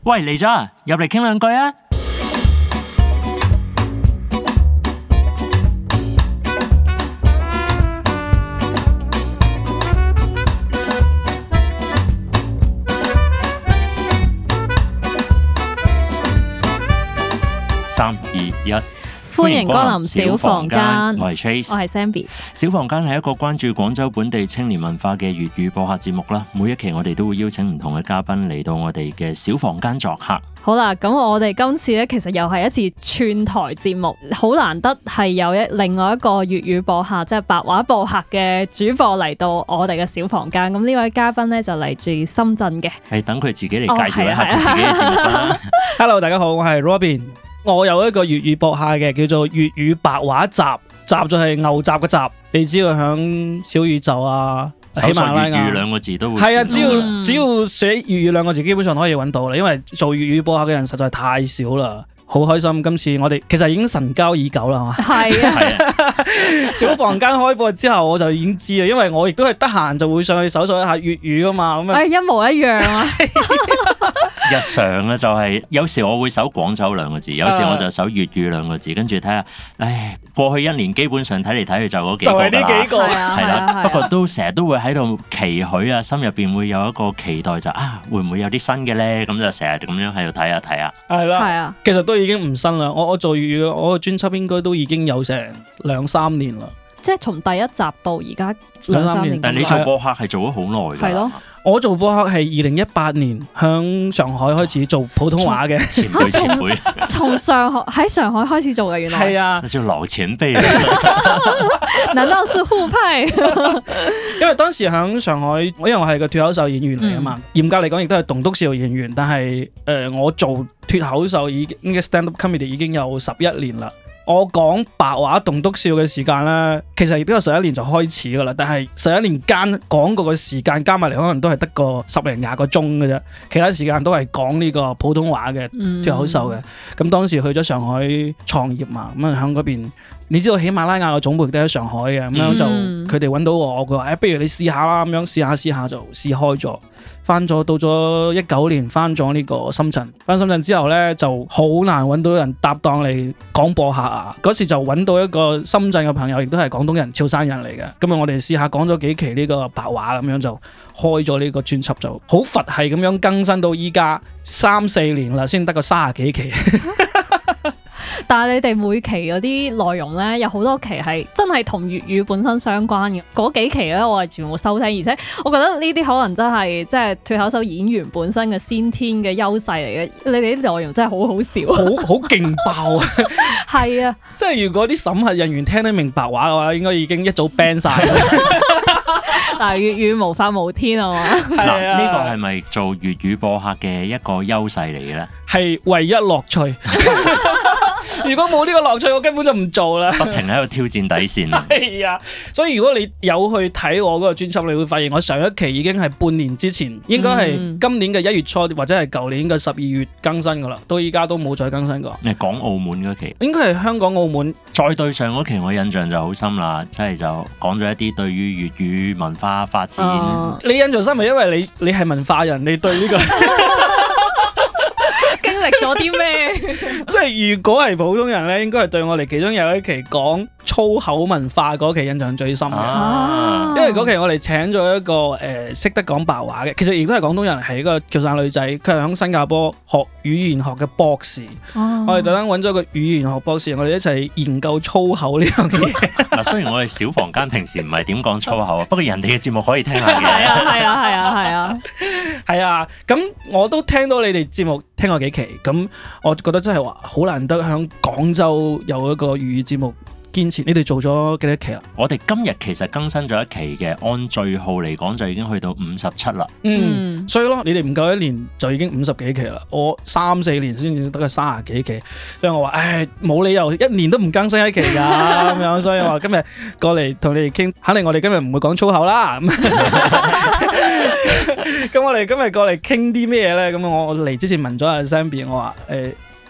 喂，嚟咗啊，入嚟傾兩句啊！3、2、1， 歡迎光臨小房間。 我係 Trace， 我係 Zenbi。 小房間係一個關注廣州本地青年文化嘅粵語播客節目啦。每一期我哋都會邀請唔同嘅嘉賓嚟到我哋嘅小房間作客。 好啦，咁我哋今次咧，其實又係一次串台節目，好難得係有另外一個粵語播客，即係白話播客嘅主播嚟到我哋嘅小房間。咁呢位嘉賓咧就嚟自深圳嘅， 係等佢自己嚟介紹一下佢自己嘅節目啦。 Hello， 大家好，我係 Robin。我有一個粵語播客嘅，叫做粵語白話集，集就係牛雜嘅集。你知道響小宇宙啊、喜馬拉雅粵語兩個字都會係啊，只要寫粵語兩個字，基本上可以揾到啦。因為做粵語播客嘅人實在太少啦。好開心，今次我哋其實已經神交已久啦，係嘛？ 係啊， 小房間開播之後我就已經知啦，因為我亦都係得閒就會上去搜索一下粵語噶嘛，咁一模一樣啊！ 日常咧就係有時我會搜廣州兩個字，有時我就搜粵語兩個字，跟住睇下，唉，過去一年基本上睇嚟睇去就嗰幾個啦， 就係呢幾個， 係啦。不過都成日都會喺度期許啊，心入邊會有一個期待就會唔會有啲新嘅咧？咁就成日咁樣喺度睇下睇下。 係啦， 係啊， 其實都已經唔新啦。我做粵語，我個專輯應該都已經有成2-3年啦。 即係從第一集到而家2-3年。 但係你做播客係做咗好耐㗎。 係咯。 我做播客係2018年響上海開始做普通話嘅， 前輩， 從喺上海開始做嘅，原來係啊， 那就老前輩。 難道是互派？ 因為當時響上海，因為我係個脫口秀演員嚟啊嘛，嚴格嚟講亦都係棟篤笑演員，但係我做脫口秀已經嘅 stand up comedy 已經有11年啦。我講白話棟篤笑嘅時間咧，其實亦都有11年就開始噶啦，但係11年間講過嘅時間加埋嚟，可能都係得個10-20個鐘嘅啫，其他時間都係講呢個普通話嘅脫口秀嘅。咁當時去咗上海創業嘛，咁啊喺嗰邊，你知道喜馬拉雅嘅總部都喺上海嘅，咁樣就佢哋揾到我，佢話不如你試下啦，咁樣試下就試開咗。翻咗到咗19年，翻咗呢個深圳。翻深圳之後呢，就好難揾到人搭檔嚟講播客啊！嗰時就揾到一個深圳嘅朋友，亦都係廣東人、潮汕人嚟嘅。咁啊，我哋試下講咗幾期呢個白話，咁樣就開咗呢個專輯，就好佛系咁樣更新到依家3-4年啦，先得個30幾期。 但係你哋每期嗰啲內容咧，有好多期係真係同粵語本身相關嘅。嗰幾期咧，我係全部收聽，而且我覺得呢啲可能真係即係脫口秀演員本身嘅先天嘅優勢嚟嘅。你哋啲內容真係好好笑， 好勁爆啊！ 係啊， 即係如果啲審核人員聽得明白話嘅話，應該已經一早 ban 晒。 嗱，粵語無法無天啊嘛。 嗱，呢個係咪做粵語播客嘅一個優勢嚟嘅咧？ 係唯一樂趣。如果冇呢個樂趣，我根本就唔做啦。 不停喺度挑戰底線。 係啊，所以如果你有去睇我嗰個專輯，你會發現我上一期已經係半年之前，應該係今年嘅1月初或者係舊年嘅12月更新噶啦，到依家都冇再更新過。 你講澳門嗰期， 應該係香港澳門。 再對上嗰期，我印象就好深啦，即係就講咗一啲對於粵語文化發展。 你印象深係因為你係文化人，你對呢個經歷咗啲咩？ 即係如果係普通人咧，應該係對我哋其中有一期講粗口文化嗰期印象最深嘅。因為嗰期我哋請咗一個識得講白話嘅，其實亦都係廣東人，係一個潮汕女仔，佢係喺新加坡學語言學嘅博士。我哋特登揾咗個語言學博士，我哋一齊研究粗口呢樣嘢。 嗱，雖然我哋小房間平時唔係點講粗口啊，不過人哋嘅節目可以聽下嘅。 係啊，咁我都聽到你哋節目聽過幾期，咁我覺得真係話好難得喺廣州有一個粵語節目堅持。你哋做咗幾多期啊？ 我哋今日其實更新咗一期嘅，按序號嚟講就已經去到57啦。 所以咯，你哋唔夠1年就已經50幾期啦。我3-4年先至得個30幾期，所以我話冇理由1年都唔更新一期㗎咁樣。所以我話今日過嚟同你哋傾，肯定我哋今日唔會講粗口啦。咁我哋今日過嚟傾啲咩咧？咁我嚟之前問咗阿 Zenbi，我話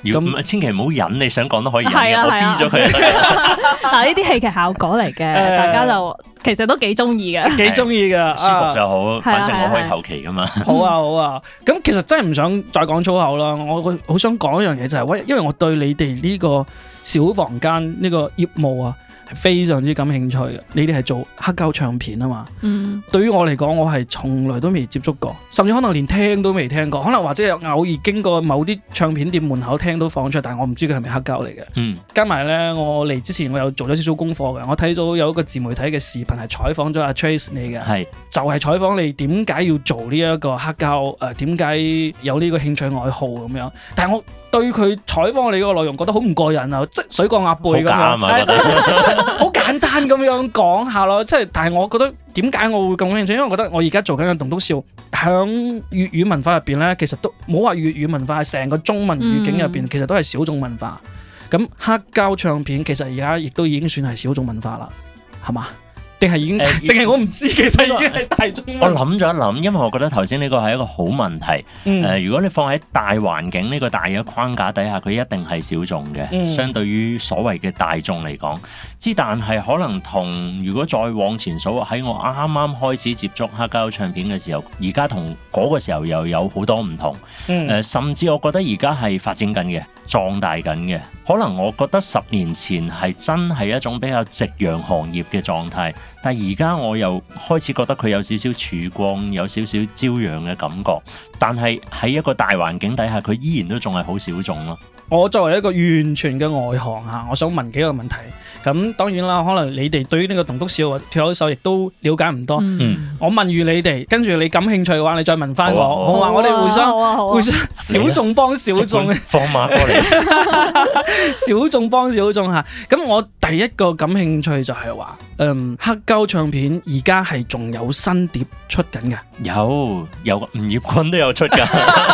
咁千祈唔好忍，你想講都可以忍嘅， 係啊我 B 咗佢就得啦。 嗱，呢啲戲劇效果嚟嘅，大家就其實都幾中意嘅。 幾中意㗎， 舒服就好，反正我可以係後期噶嘛。 好啊好啊，咁其實真係唔想再講粗口啦，我好想講一樣嘢就係，因為我對你哋呢個小房間呢個業務啊係非常之感興趣嘅。你哋係做黑膠唱片啊嘛， 嗯， 對於我嚟講，我係從來都未接觸過，甚至可能連聽都未聽過，可能或者有偶爾經過某啲唱片店門口聽到放出，但係我唔知佢係咪黑膠嚟嘅。 嗯， 加埋呢，我嚟之前我有做咗少少功課嘅，我睇到有一個自媒體嘅視頻係採訪咗阿 Trace 你嘅。 係就係採訪你點解要做呢一個黑膠，點解有呢個興趣愛好咁樣。但係我對佢採訪你嗰個內容覺得好唔過癮啊，即係水過鴨背咁樣， 好假啊嘛，覺得好簡單咁樣講下咯。即係但係我覺得點解我會咁興趣，因為我覺得我而家做緊嘅棟篤笑響粵語文化入邊咧，其實都冇話粵語文化，係成個中文語境入邊，其實都係小眾文化。咁黑膠唱片其實而家亦都已經算係小眾文化啦，係嘛？定係已經？定係我唔知，其實已經係大眾文化。 我諗咗一諗，因為我覺得頭先呢個係一個好問題。如果你放喺大環境呢個大嘅框架底下，佢一定係小眾嘅。相對於所謂嘅大眾嚟講，但係可能同如果再往前數，喺我啱啱開始接觸黑膠唱片嘅時候，而家同嗰個時候又有好多唔同。甚至我覺得而家係發展緊嘅，壯大緊嘅。可能我覺得10年前係真係一種比較夕陽行業嘅狀態，但係而家我又開始覺得佢有少少曙光，有少少朝陽嘅感覺。但係喺一個大環境底下，佢依然都仲係好小眾咯。 我作為一個完全嘅外行嚇，我想問幾個問題。咁當然啦，可能你哋對於呢個棟篤笑或脫口秀亦都了解唔多。我問完你哋，跟住你感興趣嘅話，你再問翻我，好嘛？我哋互相小眾幫小眾， 放馬過嚟， 小眾幫小眾嚇。咁我第一個感興趣就係話，黑膠唱片而家係仲有新碟出緊嘅。 有吳業坤都有出㗎。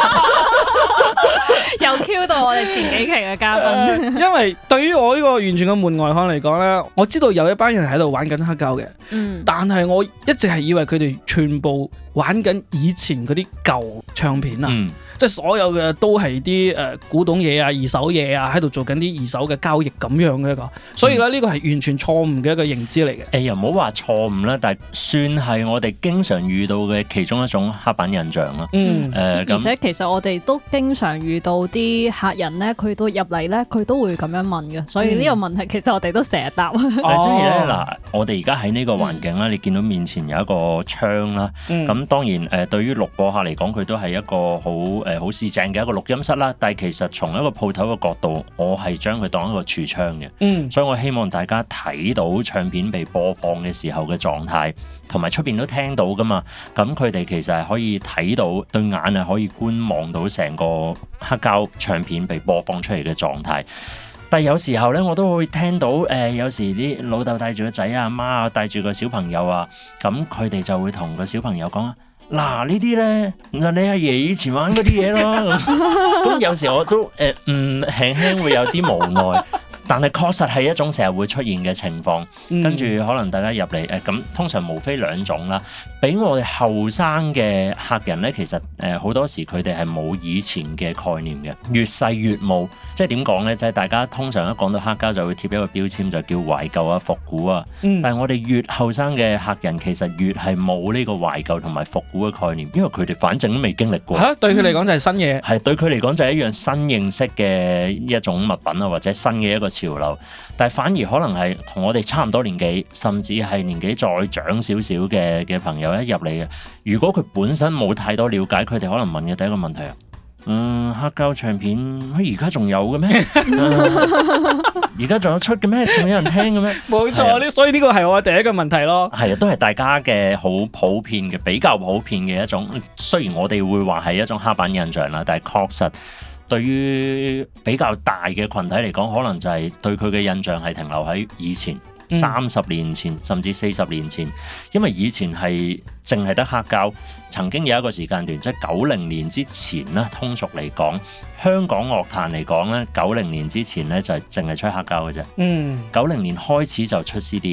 又 Q 到我哋前幾期嘅嘉賓。 因為對於我呢個完全嘅門外漢嚟講呢，我知道有一班人喺度玩緊黑膠嘅，但係我一直係以為佢哋全部玩緊以前嗰啲舊唱片啊。即係所有嘅都係啲古董嘢啊、二手嘢啊，喺度做緊啲二手嘅交易咁樣嘅一個，所以咧呢個係完全錯誤嘅一個認知嚟嘅。 又唔好話錯誤啦，但係算係我哋經常遇到嘅其中一種刻板印象啦。 而且其實我哋都經常遇到啲客人咧，佢都入嚟咧，佢都會咁樣問嘅，所以呢個問題其實我哋都成日答。即係咧嗱，我哋而家喺呢個環境啦，你見到面前有一個窗啦，咁當然對於錄播客嚟講，佢都係一個好市正嘅一個錄音室啦，但係其實從一個鋪頭嘅角度，我係將佢當一個櫥窗嘅，所以我希望大家睇到唱片被播放嘅時候嘅狀態，同埋出邊都聽到噶嘛，咁佢哋其實係可以睇到，對眼係可以觀望到成個黑膠唱片被播放出嚟嘅狀態。但係有時候咧，我都會聽到有時啲老豆帶住個仔啊，媽啊帶住個小朋友啊，咁佢哋就會同個小朋友講。嗱呢啲咧，你阿爺以前玩嗰啲嘢咯，咁有時我都輕輕會有啲無奈，但係確實係一種成日會出現嘅情況。跟住可能大家入嚟咁通常無非兩種啦。俾我哋後生嘅客人咧，其實好多時佢哋係冇以前嘅概念嘅，越細越冇。即係點講咧？就係大家通常一講到黑膠就會貼一個標籤，就叫懷舊啊、復古啊。但係我哋越後生嘅客人其實越係冇呢個懷舊同埋復古嘅概念，因為佢哋反正都未經歷過。 對佢嚟講就係新嘢。 係對佢嚟講就係一樣新認識嘅一種物品啊，或者新嘅一個潮流。但係反而可能係同我哋差唔多年紀，甚至係年紀再長少少嘅朋友一入嚟嘅，如果佢本身冇太多了解，佢哋可能問嘅第一個問題啊。黑膠唱片而家仲有嘅咩？而家仲有出嘅咩？仲有人聽嘅咩？ 冇錯，所以呢個係我第一個問題咯。 係啊，都係大家嘅好普遍嘅，比較普遍嘅一種。雖然我哋會話係一種刻板印象啦，但係確實對於比較大嘅群體嚟講，可能就係對佢嘅印象係停留喺以前。30年前甚至40年前，因為以前係淨係得黑膠，曾經有一個時間段，即係90年之前啦。通俗嚟講，香港樂壇嚟講咧，90年之前咧就係淨係出黑膠嘅啫。90年開始就出 CD 啦。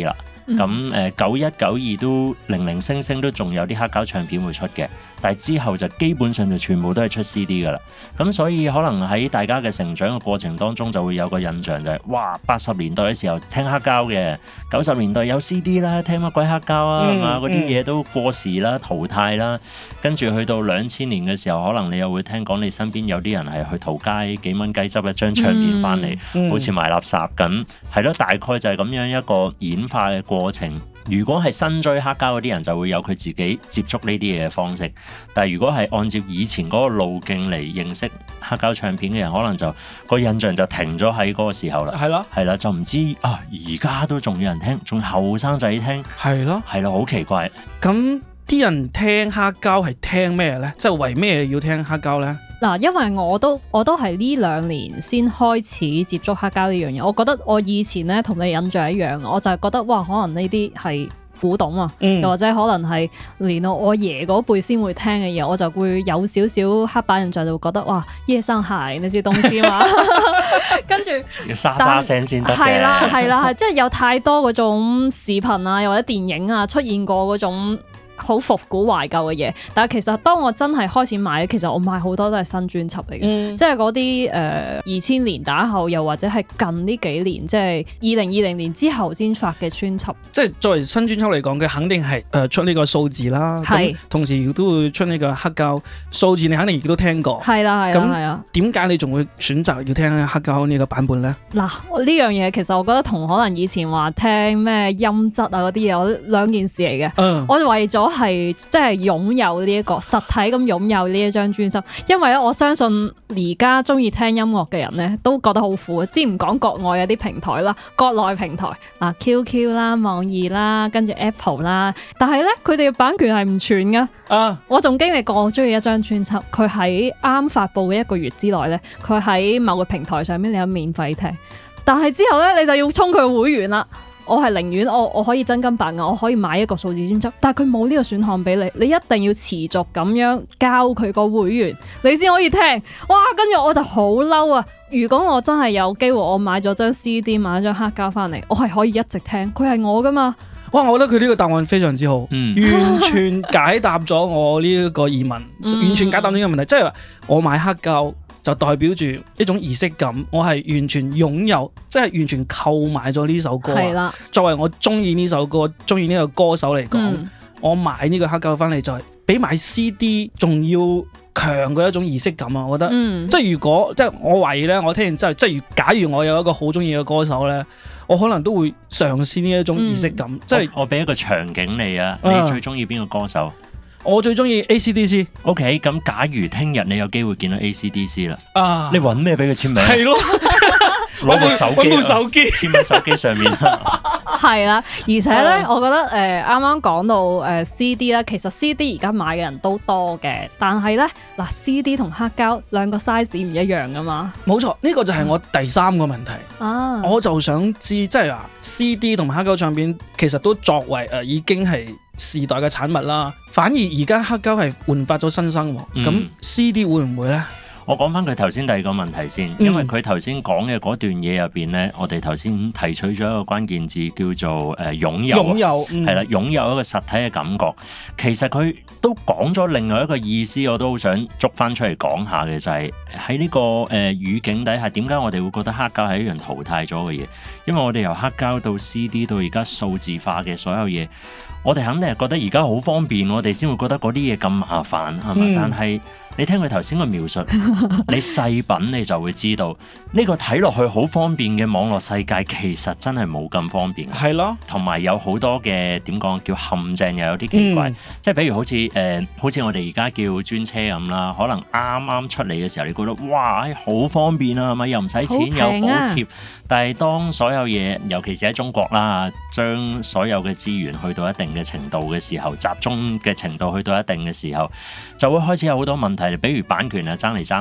咁91、92都零零星星都仲有啲黑膠唱片會出嘅，但係之後就基本上就全部都係出 CD 㗎啦。咁所以可能喺大家嘅成長嘅過程當中就會有個印象就係，哇，80年代嘅時候聽黑膠嘅，90年代有 CD 啦，聽乜鬼黑膠啊，係嘛？嗰啲嘢都過時啦、淘汰啦。跟住去到2000年嘅時候，可能你又會聽講你身邊有啲人係去淘街幾蚊雞執一張唱片翻嚟，好似賣垃圾咁。係咯，大概就係咁樣一個演化嘅過程。如果係新追黑膠嗰啲人，就會有佢自己接觸呢啲嘢嘅方式。但係如果係按照以前嗰個路徑嚟認識黑膠唱片嘅人，可能就個印象就停咗喺嗰個時候啦。 係咯， 係啦，就唔知啊，而家都仲有人聽，仲後生仔聽。係咯，係啦，好奇怪。 咁啲人聽黑膠係聽咩咧？即係為咩要聽黑膠咧？ 嗱，因為我都係呢2年先開始接觸黑膠呢樣嘢。我覺得我以前咧同你印象一樣，我就係覺得哇，可能呢啲係古董啊，又或者可能係連我爺嗰輩先會聽嘅嘢，我就會有少少黑板印象，就會覺得哇，夜生鞋呢啲東西嘛，跟住要沙沙聲先得嘅。 係啦，係即係有太多嗰種視頻啊，又或者電影啊出現過嗰種好復古懷舊嘅嘢，但係其實當我真係開始買，其實我買好多都係新專輯嚟嘅，即係嗰啲2000年打後，又或者係近呢幾年，即係2020年之後先發嘅專輯。 即係作為新專輯嚟講，佢肯定係出呢個數字啦，咁同時亦都會出呢個黑膠數字，你肯定亦都聽過。 係啦，係啊。 點解你仲會選擇要聽黑膠呢個版本咧？ 嗱，呢樣嘢其實我覺得同可能以前話聽咩音質啊嗰啲嘢，我兩件事嚟嘅。我為咗係即係擁有呢一個實體咁擁有呢一張專輯，因為咧我相信而家中意聽音樂嘅人咧都覺得好苦。先唔講國外有啲平台啦，國內平台嗱 QQ 啦、網易啦，跟住 Apple 啦，但係咧佢哋嘅版權係唔全噶。我仲經歷過，我中意一張專輯，佢喺啱發布嘅1個月之內咧，佢喺某個平台上面你有免費聽，但係之後咧你就要充佢會員啦。我係寧願我可以真金白銀，我可以買一個數字專輯，但係佢冇呢個選項俾你，你一定要持續咁樣交佢個會員，你先可以聽。哇！跟住我就好嬲啊！如果我真係有機會，我買咗張 CD， 買咗張黑膠翻嚟，我係可以一直聽，佢係我噶嘛。 哇！我覺得佢呢個答案非常之好，完全解答咗我呢一個疑問，完全解答呢個問題。即係話我買黑膠就代表住一種儀式感，我係完全擁有，即係完全購買咗呢首歌。係啦，作為我中意呢首歌、中意呢個歌手嚟講，我買呢個黑膠翻嚟就係比買 CD 仲要強嘅一種儀式感啊！我覺得，即係如果即係我懷疑咧，我聽完之後，即係假如我有一個好中意嘅歌手咧，我可能都會嘗試呢一種儀式感。即係我俾一個場景你啊，你最中意邊個歌手？ 我最中意 AC/DC。OK， 咁假如聽日你有機會見到 AC/DC 啦，你揾咩俾佢簽名？ 係咯， 攞部手機，簽喺手機上面。 係啦，而且咧，我覺得啱啱講到CD 啦，其實 CD 而家買嘅人都多嘅，但係咧嗱 CD 同黑膠兩個 size 唔一樣噶嘛。冇錯， 呢個就係我第3個問題。我就想知，即係話 CD 同黑膠唱片其實都作為已經係時代嘅產物啦，反而而家黑膠係煥發咗新生，咁 CD 會唔會呢？ 我講翻佢頭先第2個問題先，因為佢頭先講嘅嗰段嘢入邊咧，我哋頭先提取咗一個關鍵字叫做擁有，係啦，擁有一個實體嘅感覺。其實佢都講咗另外一個意思，我都好想捉翻出嚟講下嘅，就係喺呢個語境底下，點解我哋會覺得黑膠係一樣淘汰咗嘅嘢？因為我哋由黑膠到 CD 到而家數字化嘅所有嘢，我哋肯定係覺得而家好方便，我哋先會覺得嗰啲嘢咁麻煩，係嘛？但係你聽佢頭先個描述，你細品你就會知道呢個睇落去好方便嘅網絡世界，其實真係冇咁方便。係咯，同埋有好多嘅點講叫陷阱，又有啲奇怪。即係比如好似我哋而家叫專車咁啦，可能啱啱出嚟嘅時候，你覺得哇好方便啊，係咪又唔使錢又補貼？但係當所有嘢，尤其是喺中國啦，將所有嘅資源去到一定嘅程度嘅時候，集中嘅程度去到一定嘅時候，就會開始有好多問題。比如版權啊爭嚟爭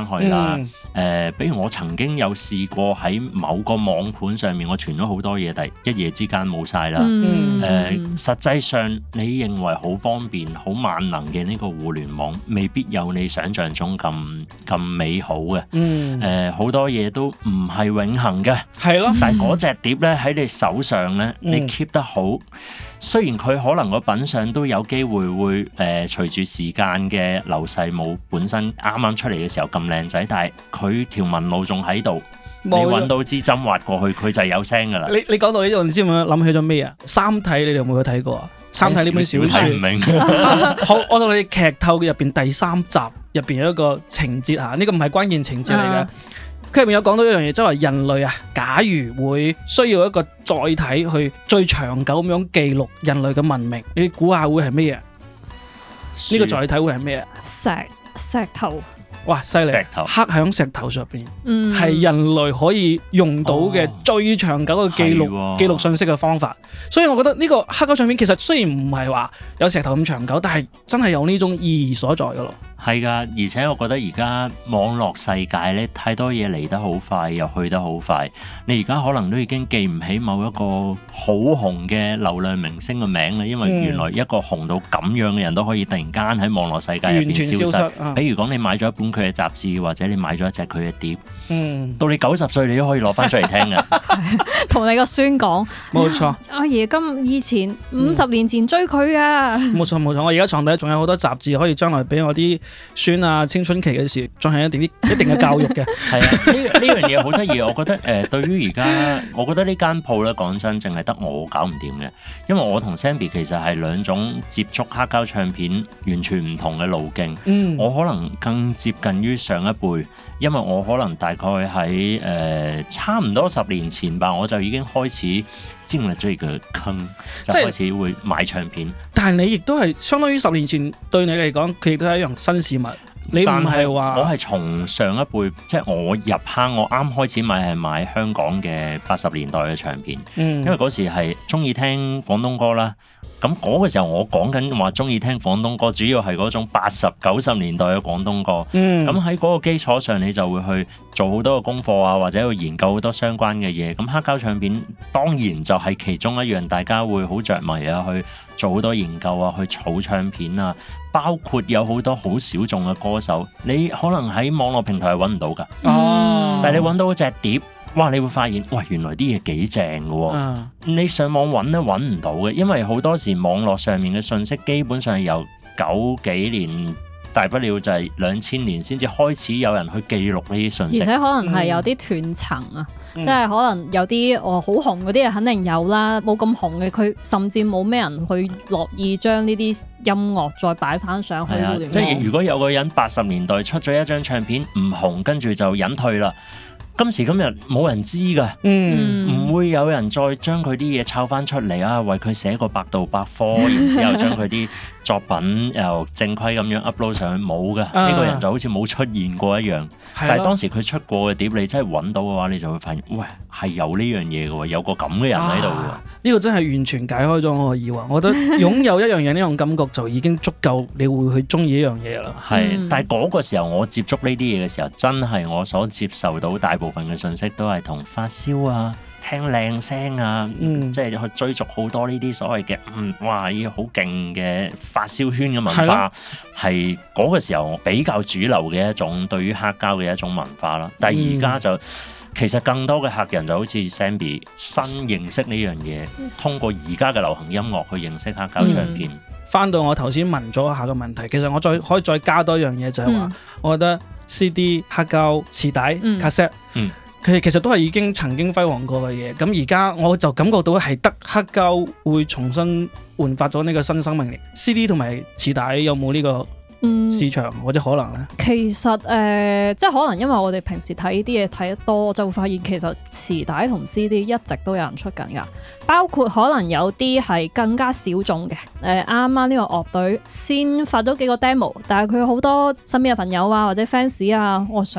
去啦。比如我曾經有試過喺某個網盤上面，我傳咗好多嘢，但一夜之間冇晒啦。實際上你認為好方便、好萬能嘅呢個互聯網，未必有你想象中咁美好嘅。好多嘢都唔係永恆嘅。係咯。但係嗰隻碟咧喺你手上咧，你 keep 得好。雖然佢可能個品相都有機會隨住時間嘅流逝冇本身啱啱出嚟嘅時候咁靚仔，但係佢條紋路仲喺度，你揾到支針劃過去，佢就係有聲噶啦。你講到呢度，唔知我諗起咗咩啊？三體你哋有冇去睇過啊？三體呢本小說，唔明。好，我同你劇透嘅入邊第3集入邊有一個情節嚇，呢個唔係關鍵情節嚟嘅。佢入面有講到一樣嘢，即係話人類啊，假如會需要一個載體去最長久咁樣記錄人類嘅文明，你估下會係咩啊？呢個載體會係咩啊？ 石頭。 哇，犀利！刻喺石頭上邊，係人類可以用到嘅最長久嘅記錄信息嘅方法。所以我覺得呢個黑膠唱片其實雖然唔係話有石頭咁長久，但係真係有呢種意義所在噶咯。係噶，而且我覺得而家網絡世界咧，太多嘢嚟得好快，又去得好快。你而家可能都已經記唔起某一個好紅嘅流量明星嘅名啦，因為原來一個紅到咁樣嘅人都可以突然間喺網絡世界入邊消失。比如講你買咗一本佢嘅雜誌，或者你買咗一隻佢嘅碟，到你90歲你都可以攞翻出嚟聽嘅。 同你個孫講，冇錯。阿爺以前50年前追佢啊！ 冇錯冇錯，我而家床底仲有好多雜誌可以將來俾我啲孫啊，青春期嘅時進行一定嘅教育嘅。係啊，呢樣嘢好得意。我覺得對於而家，我覺得呢間鋪咧，講真，淨係得我搞唔掂嘅，因為我同 Zenbi 其實係兩種接觸黑膠唱片完全唔同嘅路徑。我可能更接近於上一輩，因為我可能大概喺差唔多10年前吧，我就已經開始進入咗呢個坑，就開始會買唱片。但係你亦都係相當於10年前對你嚟講，佢亦都係一樣新事物。你唔係話我係從上一輩，即係我入坑，我啱開始買係買香港嘅80年代嘅唱片，因為嗰時係中意聽廣東歌啦。咁嗰個時候我講緊話中意聽廣東歌，主要係嗰種80、90年代嘅廣東歌。咁喺嗰個基礎上，你就會去做好多嘅功課啊，或者去研究好多相關嘅嘢。咁黑膠唱片當然就係其中一樣，大家會好着迷啊，去做好多研究啊，去儲唱片啊。包括有好多好小眾嘅歌手，你可能喺網絡平台係揾唔到㗎。但係你揾到隻碟，哇！你會發現，喂，原來啲嘢幾正嘅喎。你上網揾都揾唔到嘅，因為好多時網絡上面嘅信息基本上係由90幾年，大不了就係2000年先至開始有人去記錄呢啲信息。而且可能係有啲斷層啊，即係可能有啲好紅嗰啲嘢肯定有啦，冇咁紅嘅佢甚至冇咩人去樂意將呢啲音樂再擺翻上去互聯網。即係如果有個人80年代出咗一張唱片唔紅，跟住就隱退啦。今時今日冇人知㗎，唔會有人再將佢啲嘢抄翻出嚟啊，為佢寫個百度百科，然之後將佢啲作品又正規咁樣 upload 上去，冇㗎。呢個人就好似冇出現過一樣。但係當時佢出過嘅碟，你真係揾到嘅話，你就會發現，喂，係有呢樣嘢嘅喎，有個咁嘅人喺度嘅。呢個真係完全解開咗我嘅疑惑。我覺得擁有一樣嘢呢種感覺就已經足夠，你會去中意一樣嘢啦。係，但係嗰個時候我接觸呢啲嘢嘅時候，真係我所接受到大部分嘅信息都係同發燒啊、聽靚聲啊，即係去追逐好多呢啲所謂嘅哇，呢好勁嘅發燒圈嘅文化，係嗰個時候比較主流嘅一種對於黑膠嘅一種文化啦。但係而家就其實更多嘅客人就好似 Zenbi 新認識呢樣嘢，通過而家嘅流行音樂去認識黑膠唱片。翻到我頭先問咗一下個問題，其實我可以再加多一樣嘢，就係話，我覺得 CD、黑膠、磁帶、cassette，佢其實都係已經曾經輝煌過嘅嘢。咁而家我就感覺到係得黑膠會重新煥發咗呢個新生命力。CD 同埋磁帶有冇呢個市場或者可能呢？其實即係可能因為我哋平時睇啲嘢睇得多，就會發現其實磁帶同 CD 一直都有人出緊㗎。包括可能有啲係更加小眾嘅，啱啱呢個樂隊先發咗幾個 demo， 但係佢好多身邊嘅朋友啊或者 fans 啊，我想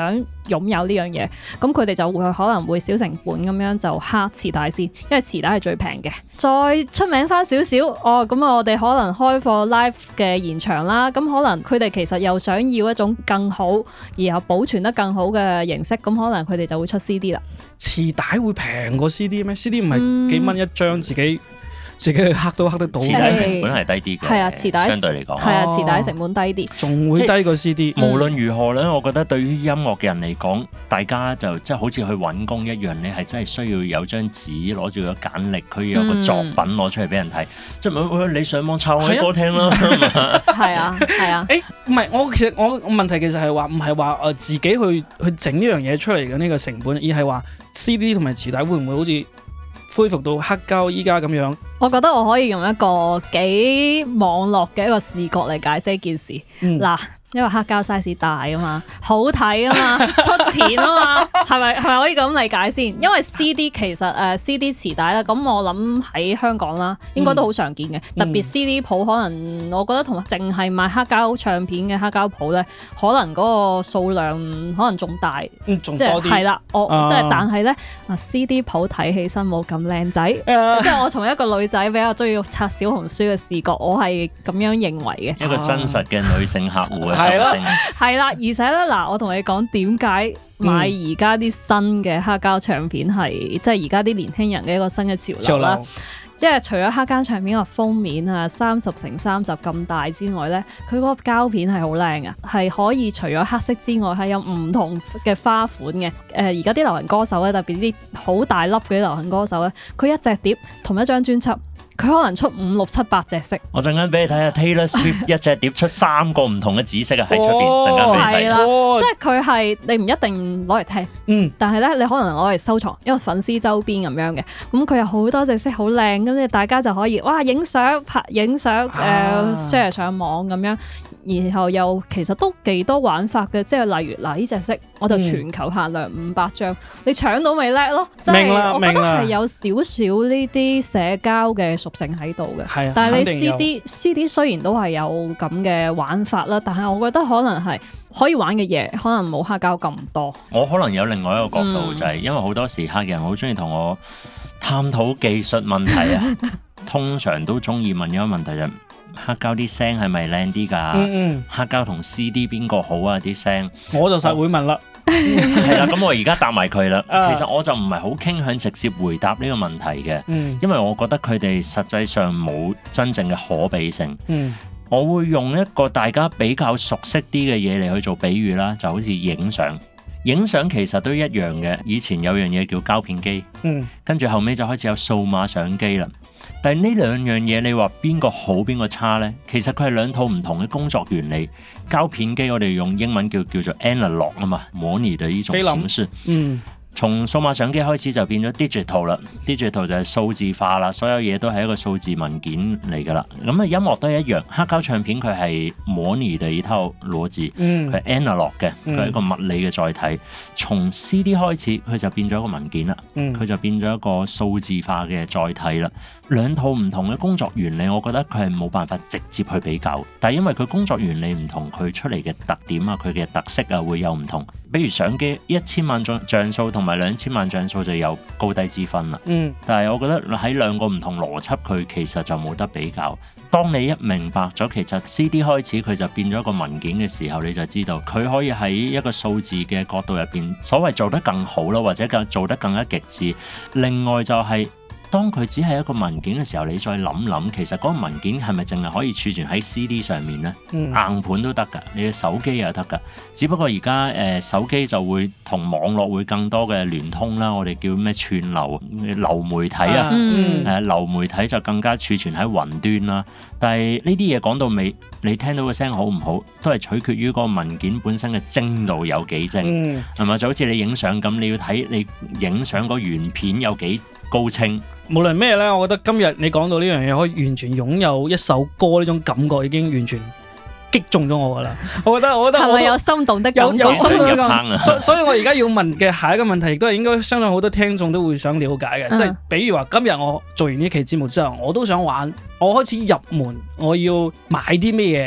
擁有呢樣嘢，咁佢哋就會可能會小成本咁樣就蝦磁帶先，因為磁帶係最平嘅。再出名翻少少，咁我哋可能開課 live 嘅現場啦，咁可能佢哋其實又想要一種更好，然後保存得更好嘅形式，咁可能佢哋就會出 CD 啦。 磁帶會平過 CD 咩？CD 唔係幾蚊一張，自己去刻都刻得到。 磁帶成本係低啲嘅， 係啊，磁帶相對嚟講係啊，磁帶成本低啲， 仲會低過 CD。 無論如何咧，我覺得對於音樂嘅人嚟講，大家就即係好似去揾工一樣，你係真係需要有張紙攞住個簡歷，佢有個作品攞出嚟俾人睇，即係你上網抄我啲歌聽啦。 係啊，係啊。 唔係，我問題其實係話唔係話自己去整呢樣嘢出嚟嘅呢個成本，而係話 CD 同埋磁帶會唔會好似恢復到黑膠依家咁樣？ 我覺得我可以用一個幾網絡嘅一個視覺嚟解釋一件事。嗱，因為黑膠 size 大啊嘛，好睇啊嘛，出片啊嘛，係咪可以咁理解先？因為 CD 其實CD 磁帶啦，咁我諗喺香港啦，應該都好常見嘅。特別 CD 鋪可能我覺得同淨係賣黑膠唱片嘅黑膠鋪咧，可能嗰個數量可能仲大， 仲多啲。 係啦，但係咧CD 鋪睇起身冇咁靚仔，即係我從一個女仔比較中意刷小紅書嘅視覺，我係咁樣認為嘅。 一個真實嘅女性客戶嘅。 係啦，而且咧嗱，我同你講點解買而家啲新嘅黑膠唱片係即係而家啲年輕人嘅一個新嘅潮流啦。即係除咗黑膠唱片個封面啊30×30咁大之外咧，佢嗰個膠片係好靚嘅，係可以除咗黑色之外，係有唔同嘅花款嘅。而家啲流行歌手咧，特別啲好大粒嘅流行歌手咧，佢一隻碟同一張專輯，佢可能出5、6、7、8隻色。 我陣間俾你睇下 Taylor Swift 一隻碟出3個唔同嘅紫色啊，喺出邊陣間俾你睇。 係啦，即係佢係你唔一定攞嚟聽，但係咧你可能攞嚟收藏，因為粉絲周邊咁樣嘅。咁佢有好多隻色好靚，咁你大家就可以哇影相拍影相share 上網咁樣。然後又其實都幾多玩法嘅，即係例如嗱呢隻色，我就全球限量500張，你搶到咪叻咯？即係我覺得係有少少呢啲社交嘅屬性喺度嘅。係啊，但係你 CD 雖然都係有咁嘅玩法啦，但係我覺得可能係可以玩嘅嘢，可能冇黑膠咁多。 我可能有另外一個角度，就係因為好多時客人好中意同我探討技術問題啊，通常都中意問一個問題就係黑膠啲聲係咪靚啲㗎？黑膠同 CD 邊個好啊？啲聲我就實會問啦。 係啦，咁我而家答埋佢啦。其實我就唔係好傾向直接回答呢個問題嘅，因為我覺得佢哋實際上冇真正嘅可比性。我會用一個大家比較熟悉啲嘅嘢嚟去做比喻啦，就好似影相。影相其實都一樣嘅，以前有樣嘢叫膠片機，跟住後尾就開始有數碼相機啦。但係呢兩樣嘢，你話邊個好邊個差呢？其實佢係兩套唔同嘅工作原理。膠片機我哋用英文叫做 analog 啊嘛，模擬嘅呢種形式。從數碼相機開始就變咗 digital 啦 ，digital 就係數字化啦，所有嘢都係一個數字文件嚟㗎啦。咁啊音樂都係一樣，黑膠唱片佢係模擬嘅一套邏輯，佢係 analog 嘅，佢係一個物理嘅載體。從 CD 開始佢就變咗一個文件啦，佢就變咗一個數字化嘅載體啦。兩套唔同嘅工作原理，我覺得佢係冇辦法直接去比較，但係因為佢工作原理唔同，佢出嚟嘅特點啊，佢嘅特色啊會有唔同。比如相機1000萬像素同埋2000萬像素就有高低之分啦。但係我覺得喺兩個唔同邏輯，佢其實就冇得比較。當你一明白咗其實 CD 開始佢就變咗一個文件嘅時候，你就知道佢可以喺一個數字嘅角度入邊，所謂做得更好啦，或者做得更加極致。另外就係當佢只係一個文件嘅時候，你再諗諗，其實嗰個文件係咪淨係可以儲存喺 CD 上面呢？硬盤都得㗎，你嘅手機又得㗎。只不過而家手機就會同網絡會更多嘅聯通啦，我哋叫咩串流流媒體啊，流媒體就更加儲存喺雲端啦。但係呢啲嘢講到尾，你聽到個聲好唔好，都係取決於嗰個文件本身嘅精度有幾精，係咪？就好似你影相咁，你要睇你影相個原片有幾高清。 無論咩咧，我覺得今日你講到呢樣嘢，可以完全擁有一首歌呢種感覺，已經完全擊中咗我噶啦。我覺得係咪有心動的感覺？ 有心動的感覺。所以我而家要問嘅下一個問題，亦都係應該相信好多聽眾都會想了解嘅，即係比如話今日我做完呢期節目之後，我都想玩，我開始入門，我要買啲咩嘢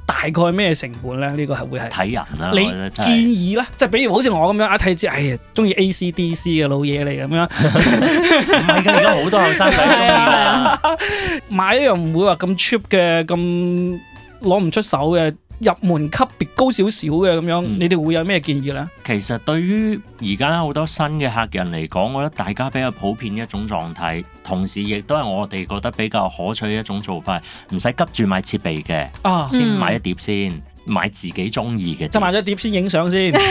大概咩成本咧？呢個係會係睇人啦， 你我覺得真建係議咧，即係比如好似我咁樣一睇知，哎呀，中意 AC/DC 嘅老嘢嚟咁樣， 唔係㗎，而家好多後生仔中意㗎。 買一樣唔會話咁 cheap 嘅，咁攞唔出手嘅。入門級別高少少嘅咁樣，你哋會有咩建議呢？ 其實對於而家好多新嘅客人嚟講，我覺得大家比較普遍一種狀態，同時亦都係我哋覺得比較可取嘅一種做法，唔使急住買設備嘅， 啊， 先買一碟先，買自己中意嘅。 即係買咗碟先影相先， 即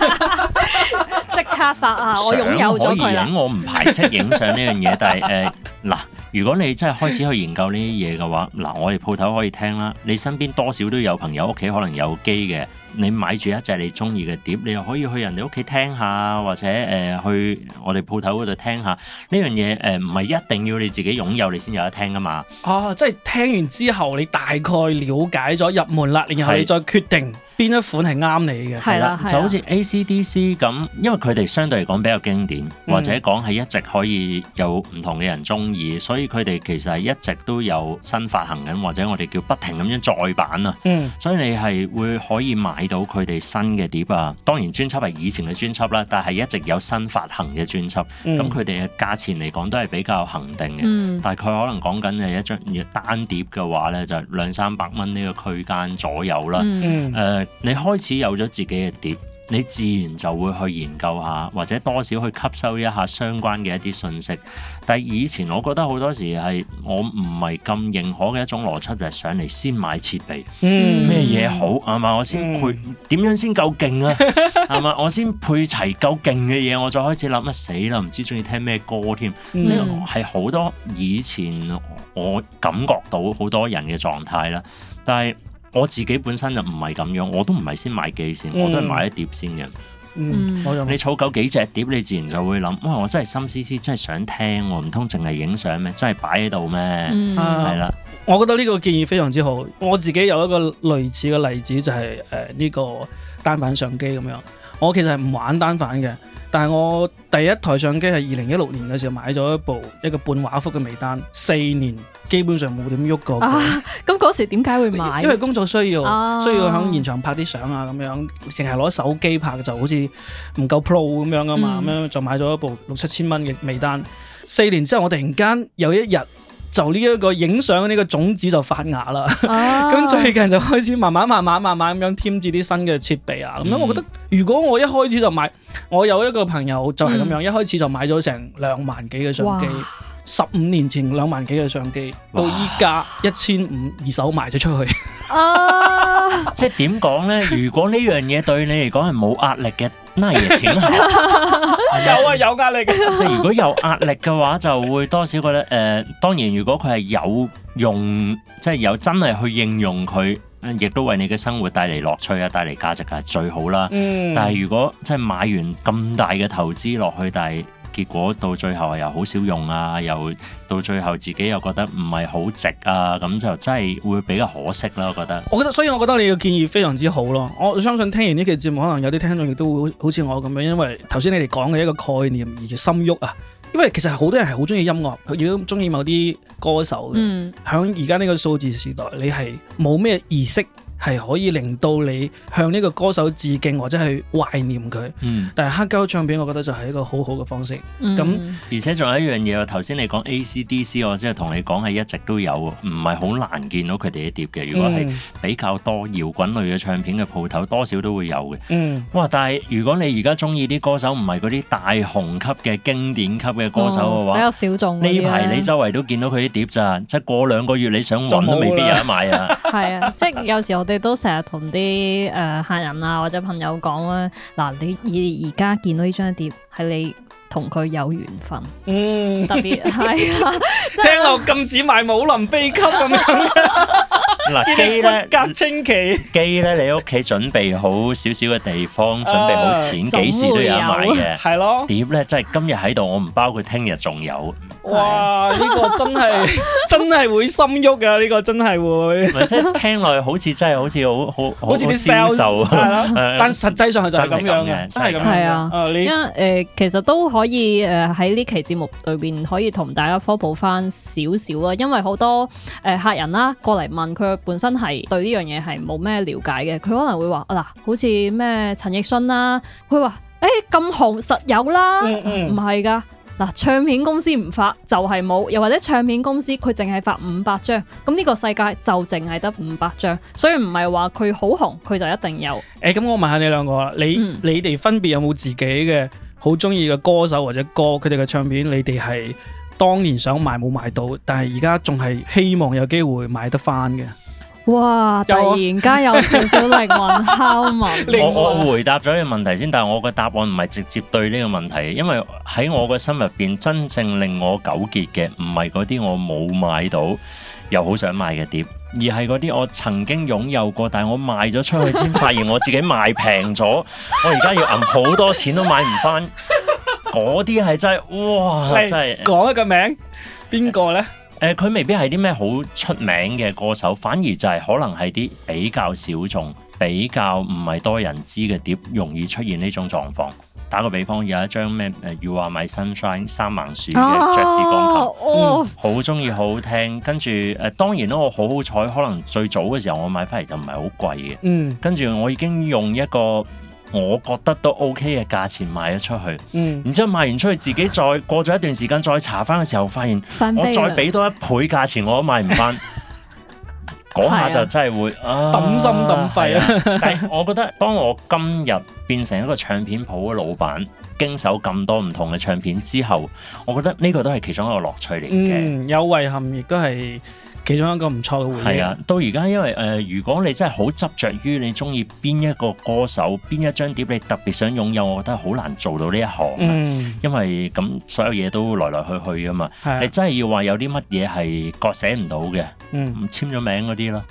刻發啊！我擁有咗佢啦。 相可以影，我唔排斥影相呢樣嘢，但係嗱。如果你真係開始去研究呢啲嘢嘅話，嗱，我哋鋪頭可以聽啦。你身邊多少都有朋友屋企可能有機嘅，你買住一隻你中意嘅碟，你又可以去人哋屋企聽下，或者去我哋鋪頭嗰度聽下。呢樣嘢唔係一定要你自己擁有你先有得聽噶嘛。 哦，即係聽完之後你大概了解咗入門啦，然後你再決定邊一款係啱你嘅。 係啦， 就好似 AC/DC 咁，因為佢哋相對嚟講比較經典，或者講係一直可以有唔同嘅人中意，所以佢哋其實係一直都有新發行緊，或者我哋叫不停咁樣再版啊。所以你係會可以買到佢哋新嘅碟啊。當然專輯係以前嘅專輯啦，但係一直有新發行嘅專輯。咁佢哋嘅價錢嚟講都係比較恒定嘅。大概可能講緊係一張單碟嘅話咧，就200-300蚊呢個區間左右啦。你開始有咗自己嘅碟，你自然就會去研究下，或者多少去吸收一下相關嘅一啲信息。但係以前我覺得好多時係我唔係咁認可嘅一種邏輯，就係上嚟先買設備，咩嘢好係嘛？我先配點樣先夠勁啊？係嘛？我先配齊夠勁嘅嘢，我再開始諗乜死啦？唔知中意聽咩歌添？呢個係好多以前我感覺到好多人嘅狀態啦，但係我自己本身就唔係咁樣，我都唔係先買機先，我都係買一碟先嘅。你儲夠幾隻碟，你自然就會諗，哇！我真係心思思，真係想聽喎，唔通淨係影相咩？真係擺喺度咩？係啦， 我覺得呢個建議非常之好。我自己有一個類似嘅例子，就係呢個單反相機咁樣。我其實係唔玩單反嘅，但係我第一台相機係2016年嘅時候買咗一個半畫幅嘅微單，4年基本上冇點喐過。 咁嗰時點解會買？ 因為工作需要喺現場拍啲相啊，咁樣淨係攞手機拍就好似唔夠 pro 咁樣噶嘛，咁樣就買咗一部6-7千蚊嘅微單。4年之後，我突然間有一日就呢一個影相呢個種子就發芽啦。咁最近就開始慢慢咁樣添置啲新嘅設備啊。咁樣我覺得，如果我一開始就買，我有一個朋友就係咁樣，一開始就買咗成2萬幾嘅相機。15年前2萬幾嘅相機，到依家1500二手賣咗出去。 即係點講咧？如果呢樣嘢對你嚟講係冇壓力嘅，那也挺好。 有壓力嘅。 即係如果有壓力嘅話，就會多少覺得當然如果佢係有用，即係有真係去應用佢，亦都為你嘅生活帶嚟樂趣啊，帶嚟價值係最好啦。但係如果即係買完咁大嘅投資落去，但係結果到最後又好少用啊，又到最後自己又覺得唔係好值啊，咁就真係會比較可惜啦。 所以我覺得你嘅建議非常之好咯。我相信聽完呢期節目，可能有啲聽眾亦都會好似我咁樣，因為頭先你哋講嘅一個概念而心喐啊。因為其實好多人係好中意音樂，亦都中意某啲歌手嘅。喺而家呢個數字時代，你係冇咩儀式係可以令到你向呢個歌手致敬或者係懷念佢，但係黑膠唱片我覺得就係一個好好嘅方式。 而且仲有一樣嘢，頭先你講 AC/DC， 我即係同你講係一直都有，唔係好難見到佢哋嘅碟嘅。如果係比較多搖滾類嘅唱片嘅鋪頭，多少都會有嘅。哇！但係如果你而家中意啲歌手唔係嗰啲大紅級嘅經典級嘅歌手嘅話， 比較小眾。 呢排你周圍都見到佢啲碟咋，即係過2個月你想揾都未必有得買啊。 係啊，即係有時我哋都成日同啲客人啊或者朋友講啦，嗱，你而家見到呢張碟係你同佢有緣分，特別係啊， 聽落咁似賣武林秘笈咁樣。 嗱，機咧骨骼清奇， 機咧你屋企準備好少少嘅地方，準備好錢，幾時都有得買嘅。 係咯， 碟咧真係今日喺度，我唔包括聽日仲有。 哇！呢個真係會心喐㗎，呢個真係會。 即係聽落去好似真係好似啲銷售係啦，但實際上係就係咁樣嘅，真係咁樣。係啊， 因為其實都可以喺呢期節目裏邊可以同大家科普翻少少啊，因為好多客人啦過嚟問佢本身係對呢樣嘢係冇咩了解嘅，佢可能會話嗱，好似咩陳奕迅啦，佢話咁紅實有啦，唔係㗎。嗱，唱片公司唔發就係冇，又或者唱片公司佢淨係發500張，咁呢個世界就淨係得500張，所以唔係話佢好紅佢就一定有。 咁我問下你兩個啦，你哋分別有冇自己嘅好中意嘅歌手或者歌，佢哋嘅唱片你哋係當年想買冇買到，但係而家仲係希望有機會買得翻嘅？ 哇！突然間有少少靈魂拷問。 我回答咗呢個問題先，但係我嘅答案唔係直接對呢個問題，因為喺我嘅心入邊，真正令我糾結嘅唔係嗰啲我冇買到又好想買嘅碟，而係嗰啲我曾經擁有過，但係我賣咗出去先發現我自己賣平咗，我而家要揞好多錢都買唔翻。嗰啲係真係，哇！真係講一個名，邊個呢？ 佢未必係啲咩好出名嘅歌手，反而就係可能係啲比較小眾、比較唔係多人知嘅碟，容易出現呢種狀況。打個比方，有一張咩You Are My Sunshine 三盲樹嘅爵士鋼琴，好中意，好好聽。跟住當然啦，我好好彩，可能最早嘅時候我買翻嚟就唔係好貴嘅。跟住我已經用一個我覺得都 OK 嘅價錢賣咗出去，然之後賣完出去，自己再過咗一段時間再查翻嘅時候，發現我再俾多1倍價錢我都買唔翻，嗰下就真係會抌心抌肺啊！ 但係我覺得，當我今日變成一個唱片鋪嘅老闆，經手咁多唔同嘅唱片之後，我覺得呢個都係其中一個樂趣嚟嘅。 有遺憾，亦都係其中一個唔錯嘅回憶。係啊， 到而家因為如果你真係好執着於你中意邊一個歌手、邊一張碟你特別想擁有，我覺得好難做到呢一行。因為咁所有嘢都來來去去噶嘛。你真係要話有啲乜嘢係割捨唔到嘅，簽咗名嗰啲咯。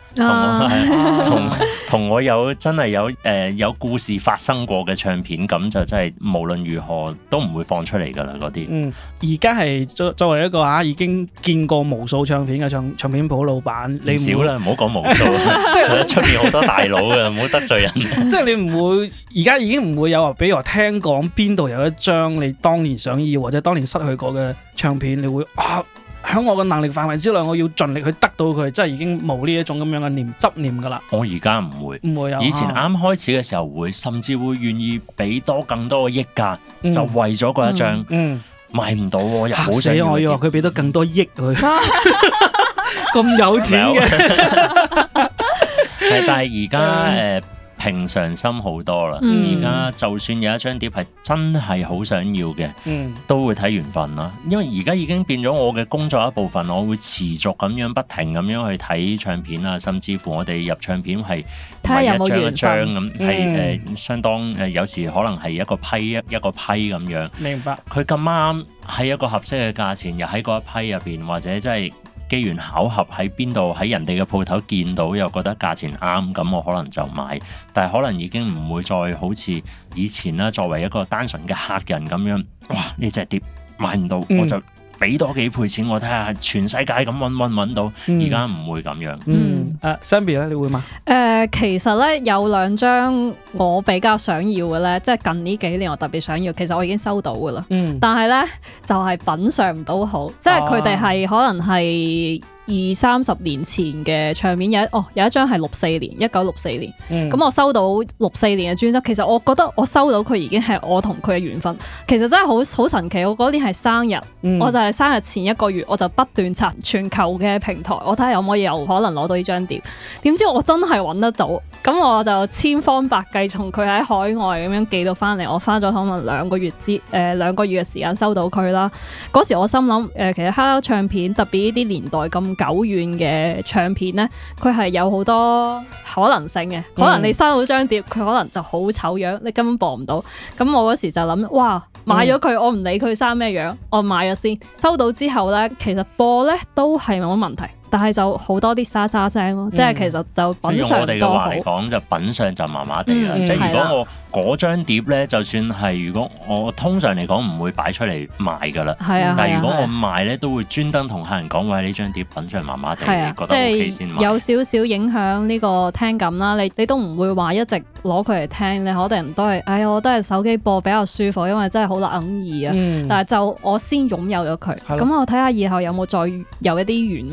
同我有真係有故事發生過嘅唱片，咁就真係無論如何都唔會放出嚟噶啦嗰啲。 而家係作為一個已經見過無數唱片嘅唱片鋪老闆，你少啦，唔好講無數，即係出邊好多大佬嘅，唔好得罪人。 即係你唔會而家已經唔會有話，比如話聽講邊度有一張你當年想要或者當年失去過嘅唱片，你會喺我嘅能力範圍之內，我要盡力去得到佢，即係已經冇呢一種咁樣嘅執念噶啦。我而家唔會有。 以前啱開始嘅時候會，甚至會願意俾更多嘅億價，就為咗嗰一張。買唔到喎，又好想要。 我要話佢俾多更多億佢，咁有錢嘅。 但係而家平常心好多啦。而家就算有一張碟係真係好想要嘅，都會睇緣分啦。因為而家已經變咗我嘅工作一部分，我會持續咁樣不停咁樣去睇唱片啊，甚至乎我哋入唱片係唔係一張一張咁，係相當有時可能係一個批一個批咁樣。 明白。 佢咁啱喺一個合適嘅價錢，又喺嗰一批入邊，或者真係機緣巧合喺邊度喺人哋嘅鋪頭見到，又覺得價錢啱，咁我可能就買。但係可能已經唔會再好似以前啦，作為一個單純嘅客人咁樣，哇！呢隻碟買唔到，我就俾多幾倍錢我睇下，全世界咁揾到。而家唔會咁樣。 Zenbi 咧，你會嗎？ 其實咧有2張我比較想要嘅咧，即係近呢幾年我特別想要，其實我已經收到噶啦。但係咧就係品嚐唔到好，即係佢哋係可能係20-30年前嘅唱片，有一張係1964年，咁我收到64年嘅專輯。其實我覺得我收到佢已經係我同佢嘅緣分。其實真係好神奇。我嗰年係生日，我就係生日前1個月，我就不斷刷全球嘅平台，我睇下有冇嘢有可能攞到呢張碟。點知我真係揾得到，咁我就千方百計從佢喺海外咁樣寄到翻嚟。我花咗可能2個月2個月嘅時間收到佢啦。嗰時我心諗其實黑膠唱片特別呢啲年代咁久遠嘅唱片呢，佢係有好多可能性嘅。可能你收到張碟，佢可能就好醜樣，你根本播唔到。咁我嗰時就諗，哇，買咗佢，我唔理佢生咩樣，我買咗先。收到之後呢，其實播呢都係冇乜問題。但係就好多啲沙渣聲咯，即係其實就品嚐用我哋嘅話嚟講，就品嚐就麻麻地啦。即係如果我嗰張碟咧，就算係如果我通常嚟講唔會擺出嚟賣噶啦。但係如果我賣咧，都會專登同客人講，喂，呢張碟品嚐麻麻地，你覺得 OK 先買。 有少少影響呢個聽感啦。你都唔會話一直攞佢嚟聽，你可能都係，我都係手機播比較舒服，因為真係好難耳啊。但係就我先擁有咗佢，咁我睇下以後有冇再有一啲緣分。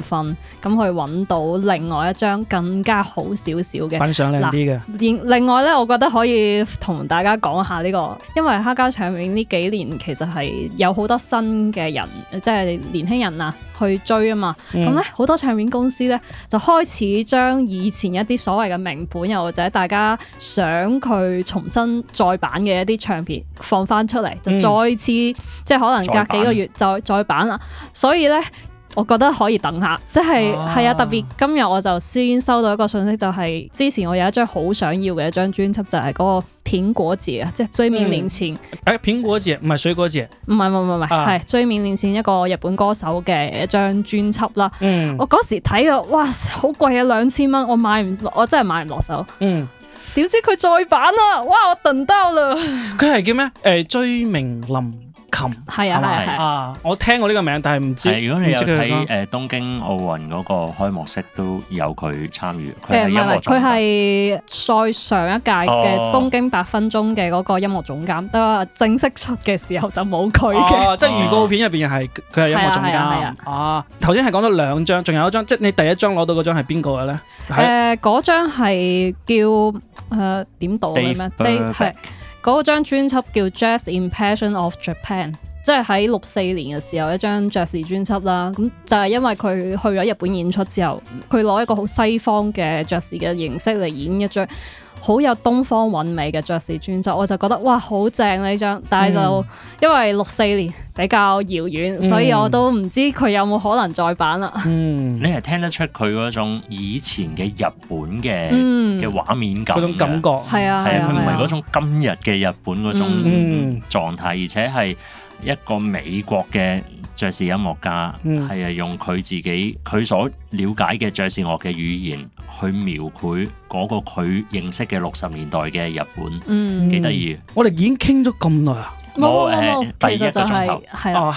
咁去揾到另外一張更加好少少嘅品相靚啲嘅。 另外咧，我覺得可以同大家講下呢個，因為黑膠唱片呢幾年其實係有好多新嘅人，即係年輕人啊去追啊嘛。咁咧好多唱片公司咧就開始將以前一啲所謂嘅名盤，又或者大家想佢重新再版嘅一啲唱片放翻出嚟，就再次即係可能隔幾個月再版啦。所以咧，我覺得可以等下，即係係啊，特別今日我就先收到一個信息，就係之前我有一張好想要嘅一張專輯，就係嗰個蘋果節啊，即係追緬年前。 蘋果節唔係水果節， 唔係，係追緬年前一個日本歌手嘅一張專輯啦。我嗰時睇啊，哇，好貴啊，2000蚊，我真係買唔落手。點知佢再版啦，哇，我等到啦。佢係叫咩？追名林琴係啊， 我聽過呢個名，但係唔知。 如果你有睇東京奧運嗰個開幕式，都有佢參與。唔係， 佢係再上一屆嘅東京8分鐘嘅嗰個音樂總監，不過正式出嘅時候就冇佢嘅。 即係預告片入邊係佢係音樂總監。頭先係講咗2張，仲有一張，即係你第一張攞到嗰張係邊個嘅咧？ 嗰張係叫點讀嘅咩？係。嗰張專輯叫 Jazz Impression of Japan， 即係喺64年嘅時候一張爵士專輯啦。咁就係因為佢去咗日本演出之後，佢攞一個好西方嘅爵士嘅形式嚟演一張好有東方韻味嘅爵士專輯，我就覺得哇好正呢張，但係就因為64年比較遙遠，所以我都唔知佢有冇可能再版啦。 你係聽得出佢嗰種以前嘅日本嘅畫面感，嗰種感覺係啊， 佢唔係嗰種今日嘅日本嗰種狀態，而且係一個美國嘅爵士音樂家，係用佢自己佢所了解嘅爵士樂嘅語言去描繪嗰個佢認識嘅60年代嘅日本，幾得意。 我哋已經傾咗咁耐啊！ 冇，其實就係啦，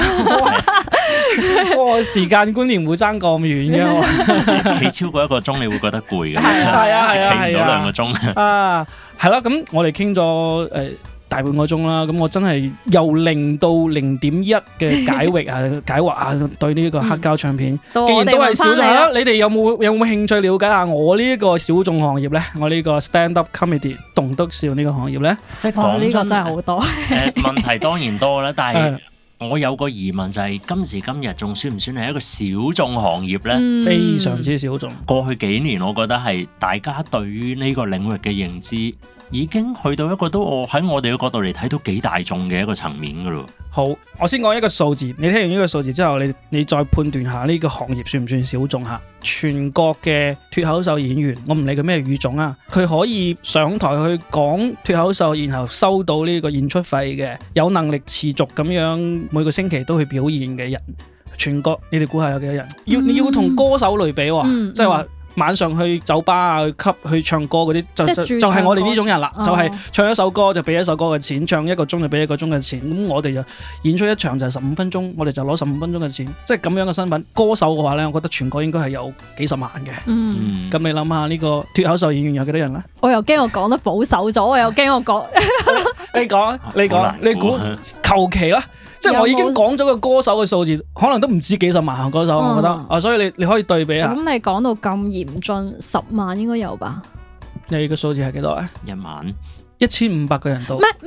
時間觀念會爭咁遠嘅， 企超過1個鐘你會覺得攰嘅， 係啊， 企唔到2個鐘啊，係啦，咁我哋傾咗大半個鐘啦，咁我真係由0到0.1嘅解惑啊，對呢個黑膠唱片，既然都係小眾啦，你哋有冇興趣了解下我呢一個小眾行業咧？我呢個 stand up comedy 棟篤笑呢個行業咧？ 即係講呢個真係好多問題當然多啦，但係我有個疑問就係今時今日仲算唔算係一個小眾行業咧？ 非常之小眾。 過去幾年我覺得係大家對於呢個領域嘅認知已經去到一個都喺我哋嘅角度嚟睇到幾大眾嘅一個層面噶咯。 好，我先講一個數字，你聽完呢個數字之後，你再判斷下呢個行業算唔算小眾吓？全國嘅脫口秀演員，我唔理佢咩語種啊，佢可以上台去講脫口秀，然後收到呢個演出費嘅，有能力持續咁樣每個星期都去表演嘅人，全國你哋估下有幾多人？你要同歌手類比喎，即係話。晚上去酒吧啊，去唱歌嗰啲就係我哋呢種人啦，就係唱一首歌就俾一首歌嘅錢，唱1個鐘就俾1個鐘嘅錢。咁我哋就演出一場就係15分鐘，我哋就攞15分鐘嘅錢，即係咁樣嘅身份。歌手嘅話咧，我覺得全國應該係有幾十萬嘅。咁你諗下呢個脫口秀演員有幾多人咧？ 我又驚我講得保守咗，我又驚我講。你估求其啦。即係我已經講咗個歌手嘅數字，可能都唔止幾十萬歌手，我覺得所以你可以對比下。 咁你講到咁嚴峻，10萬應該有吧？ 你個數字係幾多啊 ？1萬 1500個人到。 咩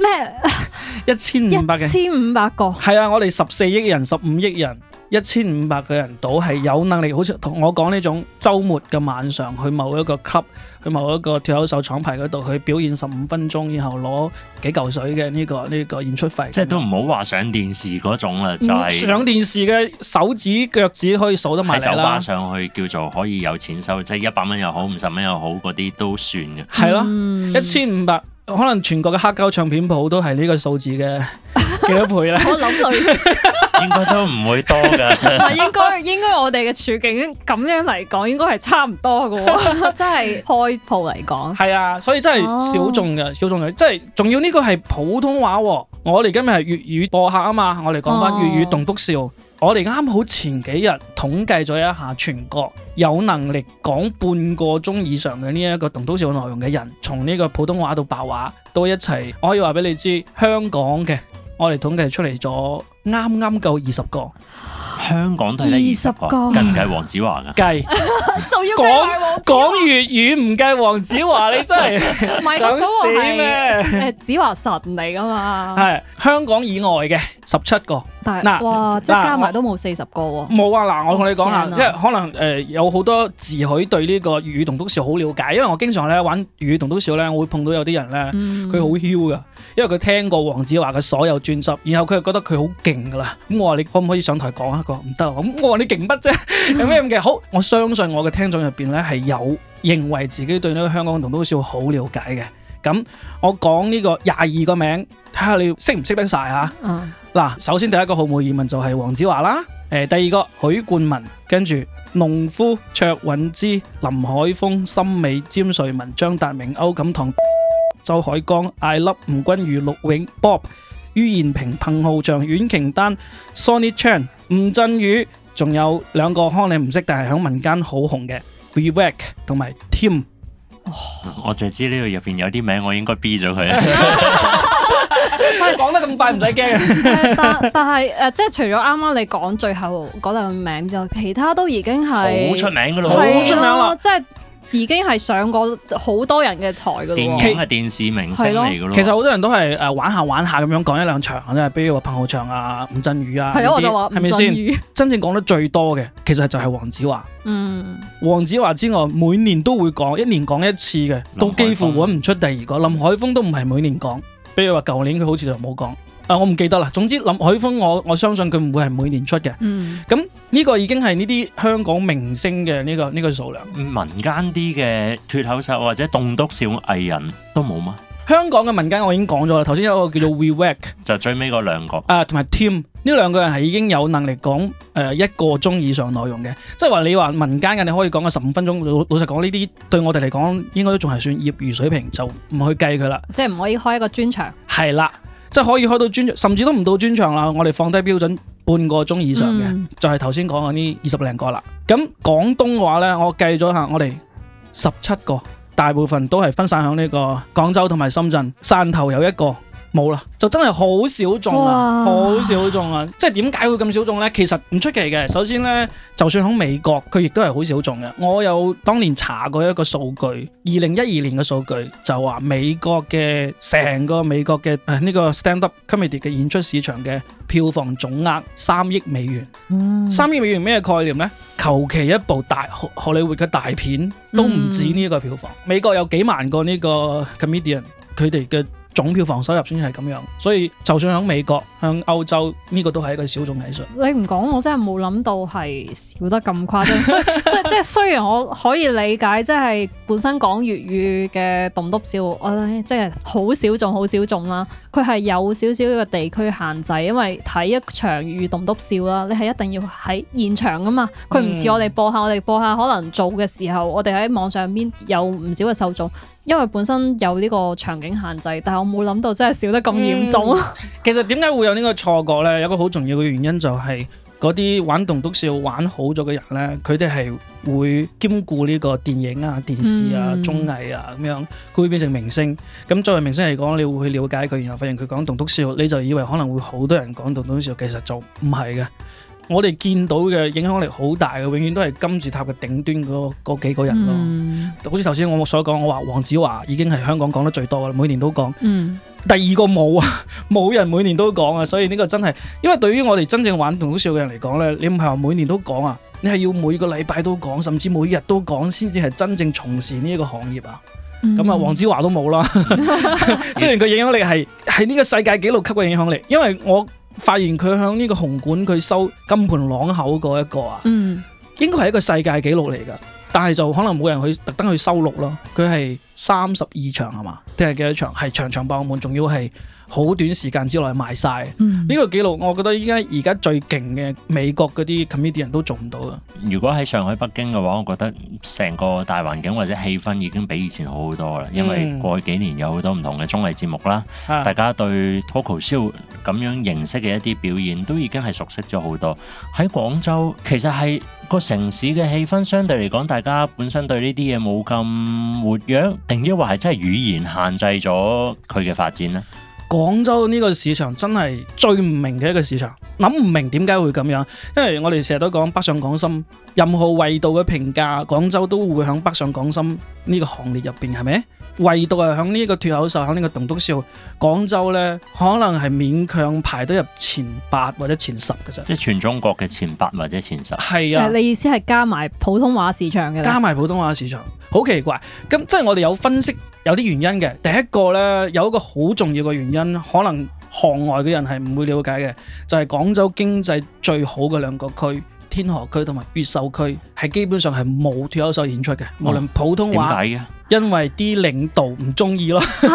？1500個。係啊，我哋14億人、15億人，1500個人到係有能力，好似同我講呢種週末嘅晚上去某一個 club，去某一個脫口秀廠牌嗰度去表演15分鐘，然後攞幾嚿水嘅呢個演出費。 即係都唔好話上電視嗰種啦，就係上電視嘅手指腳趾可以數得埋嚟啦。喺酒吧上去叫做可以有錢收，即係100蚊又好，50蚊又好，嗰啲都算嘅。係咯，1500。可能全國嘅黑膠唱片鋪都係呢個數字嘅幾多倍咧？ 我諗類似， 應該都唔會多㗎。 唔係應該我哋嘅處境咁樣嚟講，應該係差唔多嘅喎。真係開鋪嚟講， 係啊，所以真係小眾嘅，小眾嘅，即係仲要呢個係普通話喎。我哋今日係粵語播客啊嘛，我哋講翻粵語棟篤笑。我哋啱好前幾日統計咗一下全國有能力講半個鐘以上嘅呢一個棟篤笑內容嘅人，從呢個普通話到白話都一齊，我可以話俾你知，香港嘅我哋統計出嚟咗啱啱夠20個。 香港都係得20個，計唔計黃子華㗎？ 計仲要計埋黃子華講粵語唔計黃子華，你真係唔係想死咩？ 誒子華神嚟㗎嘛？ 係香港以外嘅17個。 但嗱係哇，即係加埋都冇40個喎。 冇啊！嗱，我同你講下， 天啊因為可能有好多自許對呢個粵語棟篤笑好了解，因為我經常咧玩粵語棟篤笑咧，我會碰到有啲人咧，佢好囂噶，因為佢聽過黃子華嘅所有專輯，然後佢就覺得佢好勁噶啦。咁我話你可唔可以上台講一個？唔得，咁我話你勁乜啫？有咩咁嘅？好，我相信我嘅聽眾入邊咧係有認為自己對呢個香港棟篤笑好了解嘅。咁我講呢個22個名，睇下你識唔識得晒嚇。嗱，首先第一個毫無疑問就係黃子華啦。第二個許冠文，跟住農夫、卓韻芝、林海峰、森美、詹瑞文、張達明、歐錦棠、周海江、艾粒、吳君如、陸永、Bob、于彥平、彭浩翔、阮瓊丹、Sonny Chan、吳鎮宇，仲有兩個可能你唔識，但係喺民間好紅嘅 Vivek 同埋 Tim。 我淨係知呢度入邊有啲名，我應該 B 咗佢。 講得咁快唔使驚。 但係即係除咗啱啱你講最後嗰兩個名之外，其他都已經係好出名噶咯， 好出名啦， 即係已經係上過好多人嘅台噶咯。 電影係電視明星嚟噶咯。 其實好多人都係玩下玩下咁樣講一兩場啫，比如話彭浩翔啊、吳鎮宇啊， 係咯，我就話係咪先？真正講得最多嘅，其實就係黃子華。黃子華之外，每年都會講，一年講一次嘅，都幾乎揾唔出第二個。林海峰都唔係每年講。比如話舊年佢好似就冇講，我唔記得啦。總之林海峰我相信佢唔會係每年出嘅。咁呢個已經係呢啲香港明星嘅呢個數量。 民間啲嘅脫口秀或者棟篤笑藝人都冇嗎？ 香港嘅民間我已經講咗啦，頭先有一個叫做 Vivek， 就最尾嗰兩個同埋 Tim， 呢兩個人係已經有能力講1個鐘以上內容嘅，即係話你話民間嘅你可以講個15分鐘，老實講呢啲對我哋嚟講應該都仲係算業餘水平，就唔去計佢啦。 即係唔可以開一個專場。 係啦，即係可以開到專場，甚至都唔到專場啦。我哋放低標準半個鐘以上嘅，就係頭先講嘅呢20零個啦。咁廣東嘅話呢，我計咗下，我哋17個。大部分都係分散喺呢個廣州同埋深圳，汕頭有一個冇啦，就真係好小眾啊，好小眾啊！即係點解會咁小眾呢？其實唔出奇嘅。首先呢，就算喺美國，佢亦都係好小眾嘅。我有當年查過一個數據，2012年嘅數據就話美國嘅成個美國嘅呢個 stand up comedy 嘅演出市場嘅票房總額3億美元。3億美元咩概念呢？求其一部荷里活嘅大片都唔止呢個票房。美國有幾萬個呢個 comedian， 佢哋嘅總票房收入先係咁樣，所以就算喺美國、向歐洲呢個都係一個小眾藝術。 你唔講我真係冇諗到係少得咁誇張，所以即係雖然我可以理解，即係本身講粵語嘅棟篤笑，我即係好小眾，好小眾啦。佢係有少少嘅地區限制，因為睇一場粵語棟篤笑啦，你係一定要喺現場噶嘛。佢唔似我哋播下可能做嘅時候，我哋喺網上邊有唔少嘅受眾。因為本身有呢個場景限制，但係我冇諗到真係少得咁嚴重。 其實點解會有呢個錯覺呢？有一個好重要嘅原因就係嗰啲玩棟篤笑玩好咗嘅人呢，佢哋係會兼顧呢個電影啊、電視啊、綜藝啊咁樣，佢會變成明星。咁作為明星嚟講，你會去了解佢，然後發現佢講棟篤笑，你就以為可能會好多人講棟篤笑，其實就唔係嘅。我哋見到嘅影響力好大嘅，永遠都係金字塔嘅頂端嗰幾個人咯。好似頭先我所講，我話黃子華已經係香港講得最多嘅，每年都講。第二個冇啊，冇人每年都講啊，所以呢個真係，因為對於我哋真正玩棟篤笑嘅人嚟講呢，你唔係話每年都講啊，你係要每個禮拜都講，甚至每日都講，先至係真正從事呢一個行業啊。咁啊，黃子華都冇啦。雖然佢影響力係呢個世界紀錄級嘅影響力，因為我發現佢響呢個紅館佢收金盆朗口嗰一個啊，應該係一個世界紀錄嚟噶，但係就可能冇人去特登去收錄咯。佢係32場係嘛？定係幾多場？係場場爆滿，仲要係好短時間之內賣晒。呢個紀錄我覺得而家最勁嘅美國嗰啲 comedian 都做唔到啊。 如果喺上海、北京嘅話，我覺得成個大環境或者氣氛已經比以前好好多啦。因為過去幾年有好多唔同嘅綜藝節目啦，大家對脫口秀咁樣形式嘅一啲表演都已經係熟悉咗好多。喺廣州其實係個城市嘅氣氛相對嚟講，大家本身對呢啲嘢冇咁活躍，定抑或係真係語言限制咗佢嘅發展呢？ 廣州呢個市場真係最唔明嘅一個市場， 諗唔明點解會咁樣，因為我哋成日都講北上廣深，任何維度嘅評價，廣州都會響北上廣深呢個行列入邊，係咪？唯獨係響呢個脫口秀，響呢個棟篤笑，廣州呢可能係勉強排得入前8或者前10嘅啫。 即係全中國嘅前8或者前10。 係啊， 你意思係加埋普通話市場嘅？ 加埋普通話市場，好奇怪。咁即係我哋有分析有啲原因嘅。第一個呢，有一個好重要嘅原因，可能行外嘅人係唔會了解嘅，就係廣州經濟最好嘅2個區。天河區同埋越秀區係基本上係冇脫口秀演出嘅，無論普通話。 點解嘅？ 因為啲領導唔中意咯。 真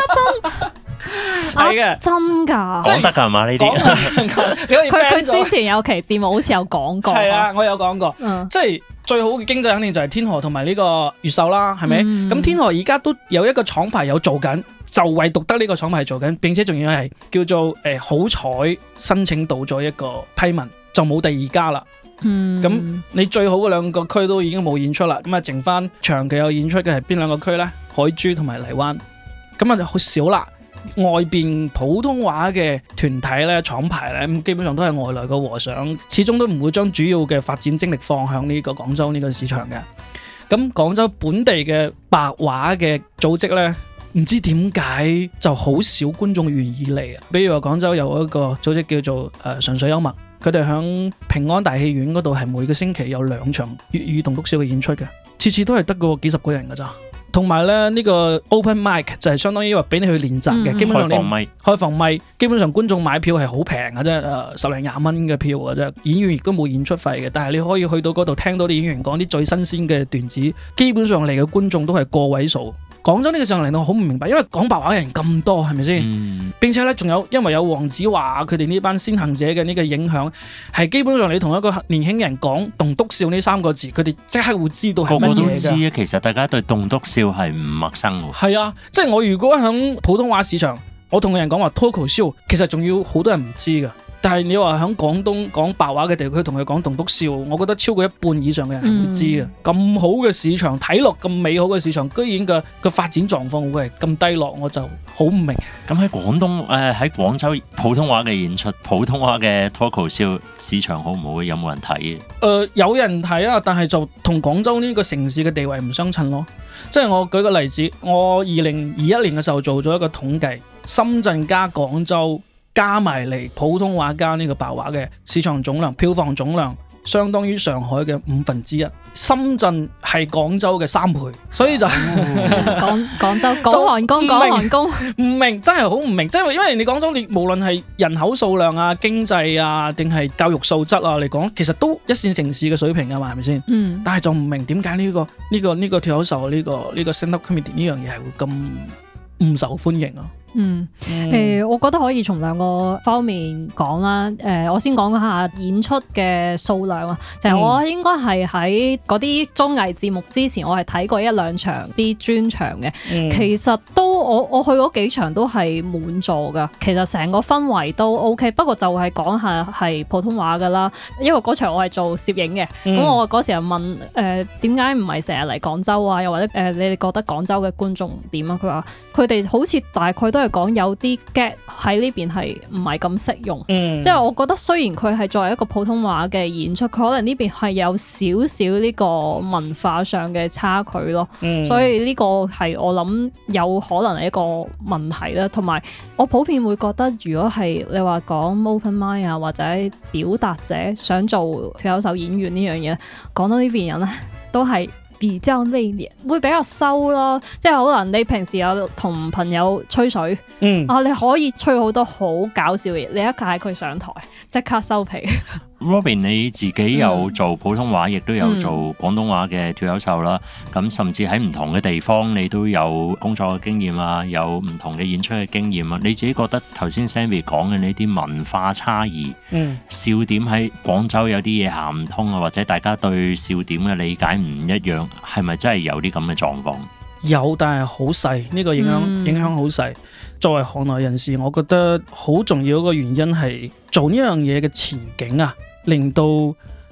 係嘅， 真㗎， 講得㗎嘛呢啲？ 佢之前有期節目好似有講過。 係啊，我有講過。即係最好嘅經濟肯定就係天河同埋呢個越秀啦，係咪？咁天河而家都有一個廠牌有做緊，就唯獨得呢個廠牌做緊，並且仲要係叫做好彩申請到咗一個批文，就冇第二家啦。咁你最好嘅2個區都已經冇演出啦，咁啊剩翻長期有演出嘅係邊2個區呢？海珠同埋荔灣，咁啊就好少啦。外邊普通話嘅團體咧、廠牌咧，基本上都係外來嘅和尚，始終都唔會將主要嘅發展精力放向呢個廣州呢個市場嘅。咁廣州本地嘅白話嘅組織呢，唔知點解就好少觀眾願意嚟啊。比如話廣州有一個組織叫做純粹幽默。佢哋響平安大戲院嗰度係每個星期有2場粵語棟篤笑嘅演出嘅，次次都係得個幾十個人㗎咋。同埋咧呢個 open mic 就係相當於話俾你去練習嘅，基本上開放咪，基本上觀眾買票係好平嘅啫，10零20蚊嘅票嘅啫。演員亦都冇演出費嘅，但係你可以去到嗰度聽到啲演員講啲最新鮮嘅段子，基本上嚟嘅觀眾都係個位數。廣州呢個上嚟我好唔明白，因為講白話嘅人咁多，係咪先？並且咧仲有，因為有黃子華佢哋呢班先行者嘅呢個影響，係基本上你同一個年輕人講棟篤笑呢3個字，佢哋即刻會知道係乜嘢㗎。 個個都知啊，其實大家對棟篤笑係唔陌生喎。 係啊，即係我如果響普通話市場，我同人講話脫口秀，其實仲要好多人唔知㗎。但係你話喺廣東講白話嘅地區同佢講棟篤笑，我覺得超過1半以上嘅人係會知嘅。咁好嘅市場，睇落咁美好嘅市場，居然個發展狀況會係咁低落，我就好唔明。 咁喺喺廣州普通話嘅演出，普通話嘅脫口秀市場好唔好？有冇人睇嘅？ 有人睇啊，但係就同廣州呢個城市嘅地位唔相稱咯。即係我舉個例子，我2021年嘅時候做咗一個統計，深圳加廣州加埋嚟普通話加呢個白話嘅市場總量、票房總量，相當於上海嘅1/5。深圳係廣州嘅3倍，所以就廣州講韓工， 唔明，真係好唔明。即係因為你廣州，你無論係人口數量啊、經濟啊，定係教育素質啊嚟講，其實都1線城市嘅水平啊嘛，係咪先？但係就唔明點解呢個脫口秀呢個 stand up comedy 呢樣嘢係會咁唔受歡迎啊？ 我覺得可以從2個方面講啦。我先講下演出嘅數量啊，就係我應該係喺嗰啲綜藝節目之前，我係睇過1、2場啲專場嘅。其實都我去嗰幾場都係滿座噶。其實成個氛圍都 OK， 不過就係講下係普通話噶啦。因為嗰場我係做攝影嘅，咁我嗰時又問點解唔係成日嚟廣州啊？又或者你哋覺得廣州嘅觀眾點啊？佢話佢哋好似大概都係講有啲 get 喺呢邊係唔係咁適用，即係我覺得雖然佢係作為一個普通話嘅演出，佢可能呢邊係有少少呢個文化上嘅差距咯，所以呢個係我諗有可能係一個問題啦。同埋我普遍會覺得，如果係你話講 open mind 啊，或者表達者想做脫口秀演員呢樣嘢，講到呢邊人咧都係比較內斂，會比較收咯，即係可能你平時有同朋友吹水，你可以吹好多好搞笑嘅嘢，你一嗌佢上台，即刻收皮。 Robin 你自己有做普通話，亦都有做廣東話嘅脫口秀啦。咁甚至喺唔同嘅地方，你都有工作嘅經驗啊，有唔同嘅演出嘅經驗啊。你自己覺得頭先 Sammy 講嘅呢啲文化差異，笑點喺廣州有啲嘢行唔通啊，或者大家對笑點嘅理解唔一樣，係咪真係有啲咁嘅狀況？ 有，但係好細，呢個影響好細。作為行內人士，我覺得好重要一個原因係做呢樣嘢嘅前景啊，令到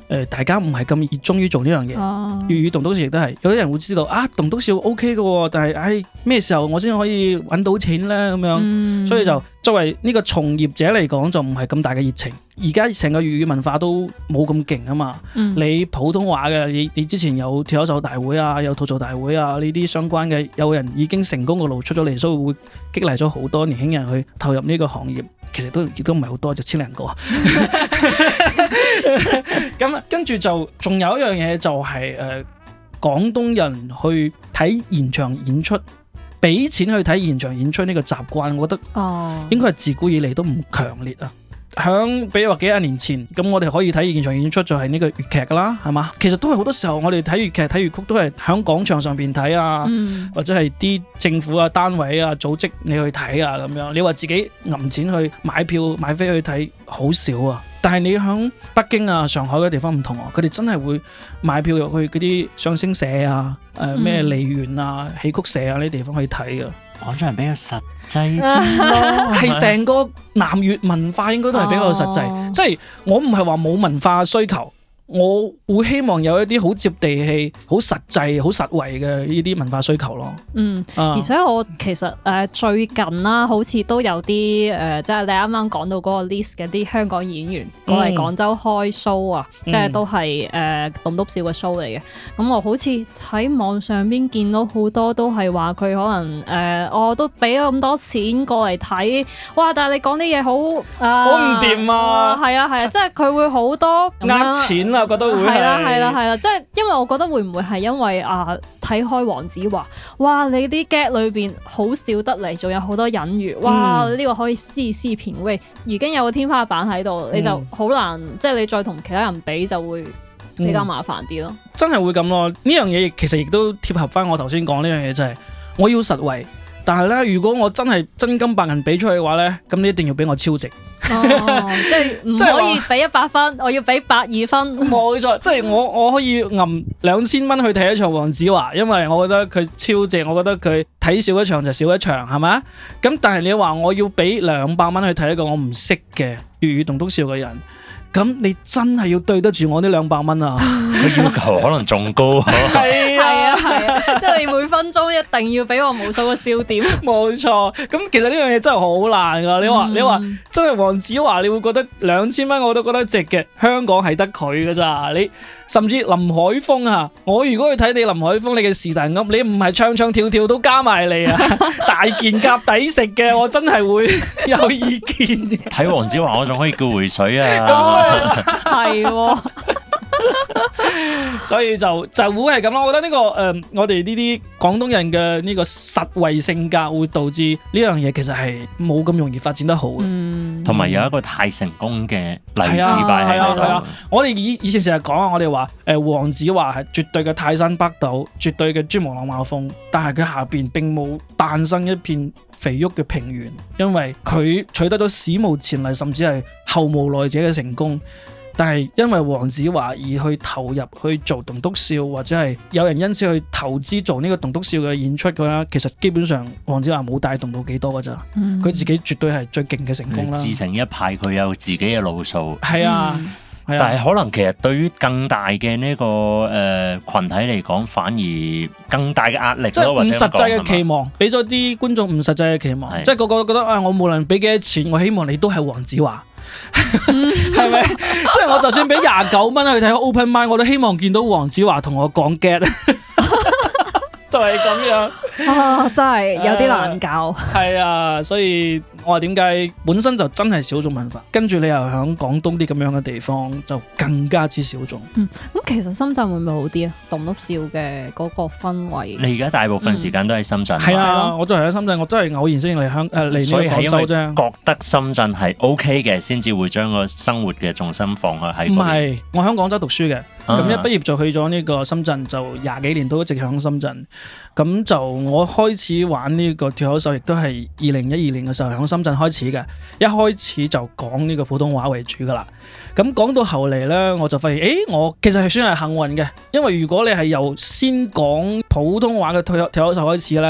大家唔係咁熱衷於做呢樣嘢。粵語棟篤笑亦都係，有啲人會知道啊，棟篤笑 OK 嘅喎，但係咩時候我先可以揾到錢咧咁樣，所以就作為呢個從業者嚟講就唔係咁大嘅熱情。而家成個粵語文化都冇咁勁啊嘛，你普通話嘅你之前有脫口秀大會啊，有吐槽大會啊，呢啲相關嘅有人已經成功嘅路出咗嚟，所以會激勵咗好多年輕人去投入呢個行業。其實亦都唔係好多，就千零個。咁跟住就仲有一樣嘢就係廣東人去睇現場演出，俾錢去睇現場演出呢個習慣，我覺得應該係自古以嚟都唔強烈啊。比如話幾廿年前，咁我哋可以睇現場演出就係呢個粵劇噶啦，係嘛？其實都係好多時候我哋睇粵劇睇粵曲都係喺廣場上邊睇啊，或者係啲政府啊單位啊組織你去睇啊咁樣。你話自己揞錢去買票買飛去睇好少啊，但係你喺北京啊上海嗰啲地方唔同啊，佢哋真係會買票入去嗰啲相聲社啊、咩梨園啊、戲曲社啊呢啲地方去睇啊。 廣州人比較實際啲咯， 係成個南粵文化應該都係比較實際，即係我唔係話冇文化需求，我會希望有一啲好接地氣、好實際、好實惠嘅呢啲文化需求咯。 而且我其實最近啦，好似都有啲即係你啱啱講到嗰個 list 嘅啲香港演員過嚟廣州開 show 啊，即係都係棟篤笑嘅 show 嚟嘅。咁我好似喺網上邊見到好多都係話佢可能我都俾咗咁多錢過嚟睇，哇！但係你講啲嘢好唔掂啊， 係啊，即係佢會好多呃錢啊，覺得會係啦，即係因為我覺得會唔會係因為睇開黃子華，哇！你啲 get 裏邊好笑得嚟，仲有好多隱喻，哇！呢個可以絲品味，已經有個天花板喺度，你就好難，即係你再同其他人比就會比較麻煩啲咯。 真係會咁咯，呢樣嘢其實亦都貼合翻我頭先講呢樣嘢，就係我要實惠，但係咧如果我真係真金白銀俾出去嘅話咧，咁你一定要俾我超值。 即係唔可以俾100分，我要俾120分。 冇錯，即係我可以揞2000蚊去睇一場黃子華，因為我覺得佢超值，我覺得佢睇少一場就少一場，係咪？咁但係你話我要俾200蚊去睇一個我唔識嘅粵語棟篤笑嘅人，咁你真係要對得住我呢200蚊啊！ 個要求可能仲高。 係啊， 即係你每分鐘一定要俾我無數個笑點。 冇錯，咁其實呢樣嘢真係好難噶。你話真係黃子華，你會覺得2000蚊我都覺得值嘅。香港係得佢噶咋，你甚至林海峰啊，我如果去睇你林海峰，你嘅是但噏，你唔係唱唱跳跳都加埋嚟啊，大件夾抵食嘅，我真係會有意見嘅。 睇黃子華我仲可以叫回水啊。 係。 所以就會係咁咯，我覺得呢個我哋呢啲廣東人嘅呢個實惠性格會導致呢樣嘢其實係冇咁容易發展得好嘅， 同埋有一個太成功嘅例子擺喺度。 係啊，我哋以前成日講啊，我哋話黃子華係絕對嘅泰山北斗，絕對嘅珠穆朗瑪峰，但係佢下邊並冇誕生一片肥沃嘅平原，因為佢取得咗史無前例甚至係後無來者嘅成功。但係因為黃子華而去投入去做棟篤笑，或者係有人因此去投資做呢個棟篤笑嘅演出嘅啦，其實基本上黃子華冇帶動到幾多㗎咋，佢自己絕對係最勁嘅成功啦。 自成一派，佢有自己嘅路數。 係啊， 但係可能其實對於更大嘅呢個群體嚟講，反而更大嘅壓力， 即係唔實際嘅期望，俾咗啲觀眾唔實際嘅期望，即係個個都覺得我無論俾幾多錢，我希望你都係黃子華。係咪？即係我就算俾29蚊去睇 Open Mic， 我都希望見到黃子華同我講 get， 就係咁樣。 真係有啲難教。 係啊，所以我話點解本身就真係小眾文化，跟住你又喺廣東啲咁樣嘅地方，就更加之小眾。 咁其實深圳會唔會好啲啊？棟篤笑嘅嗰個氛圍。 你而家大部分時間都喺深圳。 係啊，我都係喺深圳，我真係偶然先嚟嚟呢個廣州啫。 覺得深圳係 OK 嘅，先至會將個生活嘅重心放喺。 唔係，我喺廣州讀書嘅。咁一畢業就去咗呢個深圳，就20幾年都一直響深圳。咁就我開始玩呢個脫口秀，亦都係2012年嘅時候響深圳開始嘅。一開始就講呢個普通話為主噶啦。咁講到後嚟呢，我就發現，我其實係算係幸運嘅，因為如果你係由先講普通話嘅脫口秀開始呢，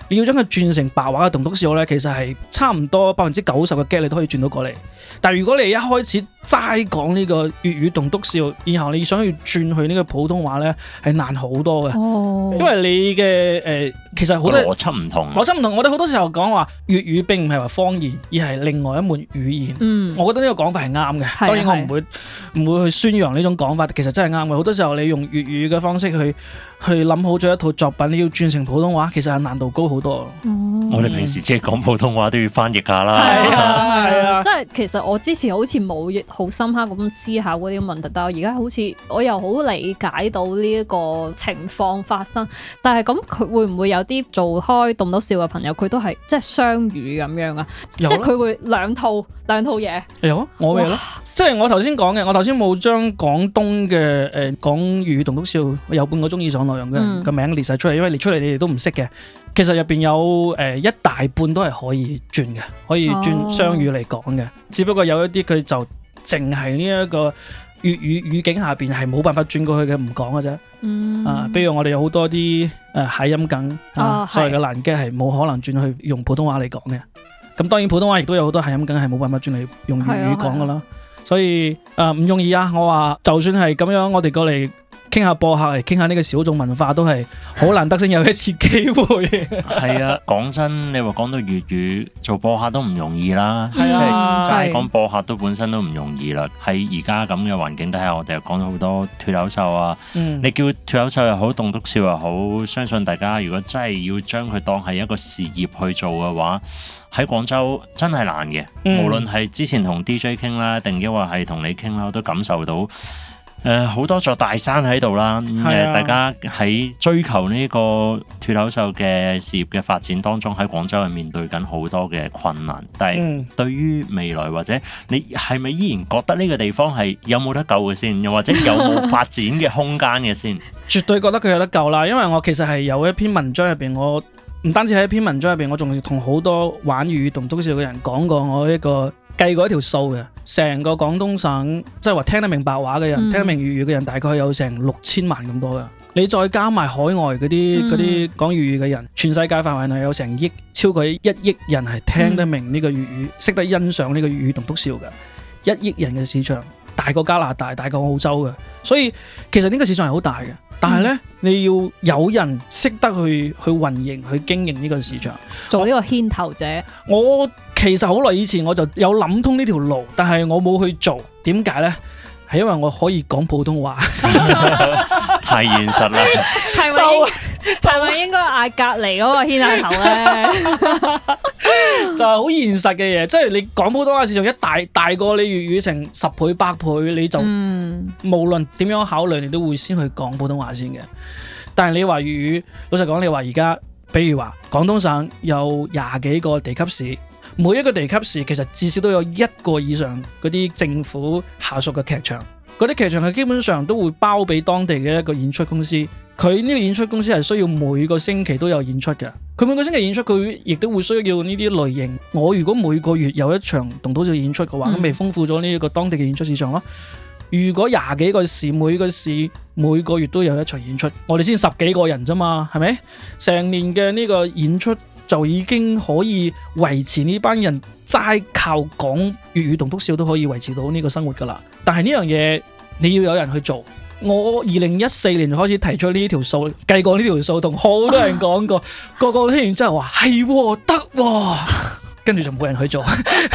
你要將佢轉成白話嘅棟篤笑咧，其實係差唔多90%嘅 get 你都可以轉到過嚟。但係如果你一開始齋講呢個粵語棟篤笑，然後你想要轉去呢個普通話咧，係難好多嘅。因為你嘅其實好多邏輯唔同。 我哋好多時候講話粵語並唔係話方言，而係另外一門語言。我覺得呢個講法係啱嘅。當然我唔會去宣揚呢種講法，其實真係啱嘅。好多時候你用粵語嘅方式去諗好咗一套作品，你要轉成普通話，其實係難度高好多。 我哋平時即係講普通話都要翻譯下啦。 係啊， 即係其實我之前好似冇好深刻咁思考嗰啲問題，但係我而家好似我又好理解到呢一個情況發生。但係咁佢會唔會有啲做開棟篤笑嘅朋友，佢都係即係雙語咁樣啊？即係佢會兩套嘢。有啊， 我咪咯。即係我頭先講嘅，我頭先冇將廣東嘅講粵語棟篤笑有半個鐘以上內容嘅名列晒出嚟，因為列出嚟你哋都唔識嘅。其實入邊有一大半都係可以轉嘅，可以轉雙語嚟講嘅。只不過有一啲佢就淨係呢一個粵語語境下邊係冇辦法轉過去嘅，唔講嘅啫。比如我哋有好多啲諧音梗，所謂嘅爛 gag係冇可能轉去用普通話嚟講嘅。咁當然普通話亦都有好多諧音梗係冇辦法轉嚟用粵語講噶啦。所以唔容易啊！我話就算係咁樣，我哋過嚟傾下播客嚟傾下呢個小眾文化，都係好難得先有一次機會。係啊，講真，你話講到粵語做播客都唔容易啦， 即係齋講播客都本身都唔容易啦。喺而家咁嘅環境底下，我哋又講到好多脫口秀啊。你叫脫口秀又好，棟篤笑又好，相信大家如果真係要將佢當係一個事業去做嘅話，喺廣州真係難嘅。無論係之前同 DJ 傾啦，定抑或係同你傾啦，我都感受到好多座大山喺度啦。大家喺追求呢個脫口秀嘅事業嘅發展當中，喺廣州係面對緊好多嘅困難。但係對於未來或者你係咪依然覺得呢個地方係有冇得救嘅先？又或者有冇發展嘅空間嘅先？ 絕對覺得佢有得救啦，因為我其實係有一篇文章入邊，我唔單止喺一篇文章入邊，我仲同好多玩粵語棟篤笑嘅人講過我一個計過一條數嘅，成個廣東省即係話聽得明白話嘅人，聽得明粵語嘅人，大概有成6000萬咁多㗎。你再加埋海外嗰啲講粵語嘅人，全世界範圍內有成超過1億人係聽得明呢個粵語，識得欣賞呢個粵語棟篤笑嘅。1億人嘅市場，大過加拿大，大過澳洲嘅，所以其實呢個市場係好大嘅。但係咧，你要有人識得去運營、去經營呢個市場， 做呢個牽頭者。 我其實好耐以前我就有諗通呢條路，但係我冇去做。點解咧？係因為我可以講普通話。 太現實啦！ 係咪應該嗌隔離嗰個牽下頭咧？ 就係好現實嘅嘢，即係你講普通話市場一大過你粵語成10倍100倍，你就無論點樣考慮，你都會先去講普通話先嘅。但係你話粵語，老實講，你話而家，比如話廣東省有20幾個地級市，每一個地級市其實至少都有1個以上嗰啲政府下屬嘅劇場。嗰啲劇場佢基本上都會包俾當地嘅一個演出公司，佢呢個演出公司係需要每個星期都有演出嘅。佢每個星期演出，佢亦都會需要呢啲類型。我如果每個月有一場棟篤笑演出嘅話，咁咪豐富咗呢一個當地嘅演出市場咯。如果20幾個市，每個市每個月都有一場演出，我哋先10幾個人啫嘛，係咪？成年嘅呢個演出就已經可以維持呢班人齋靠講粵語棟篤笑都可以維持到呢個生活噶啦。但係呢樣嘢你要有人去做。我2014年就開始提出呢條數，計過呢條數，同好多人講過，個個聽完之後話係得喎，跟住就冇人去做。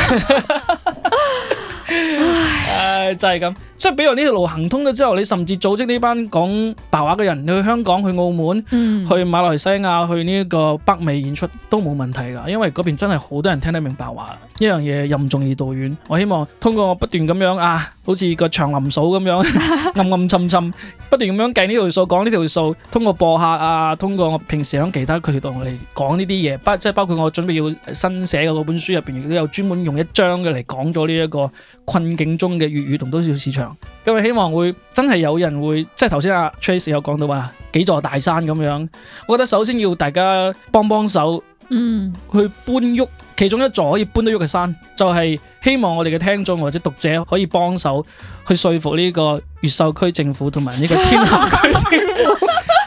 就係咁，即係比如呢條路行通咗之後，你甚至組織呢班講白話嘅人，你去香港、去澳門、去馬來西亞、去呢個北美演出都冇問題噶，因為嗰邊真係好多人聽得明白話。呢樣嘢任重而道遠，我希望通過我不斷咁樣好似個長林嫂咁樣暗暗沉沉，不斷咁樣計呢條數、講呢條數，通過播客通過我平時喺其他渠道嚟講呢啲嘢，即係包括我準備要新寫嘅嗰本書入邊，亦都有專門用一章嘅嚟講咗呢一個困境中嘅粵語棟篤笑市場。咁我希望會真係有人會，即係頭先阿 Trace 有講到話幾座大山咁樣，我覺得首先要大家幫手，去搬喐其中一座可以搬得喐嘅山，就係希望我哋嘅聽眾或者讀者可以幫手去說服呢個越秀區政府同埋呢個天河區政府，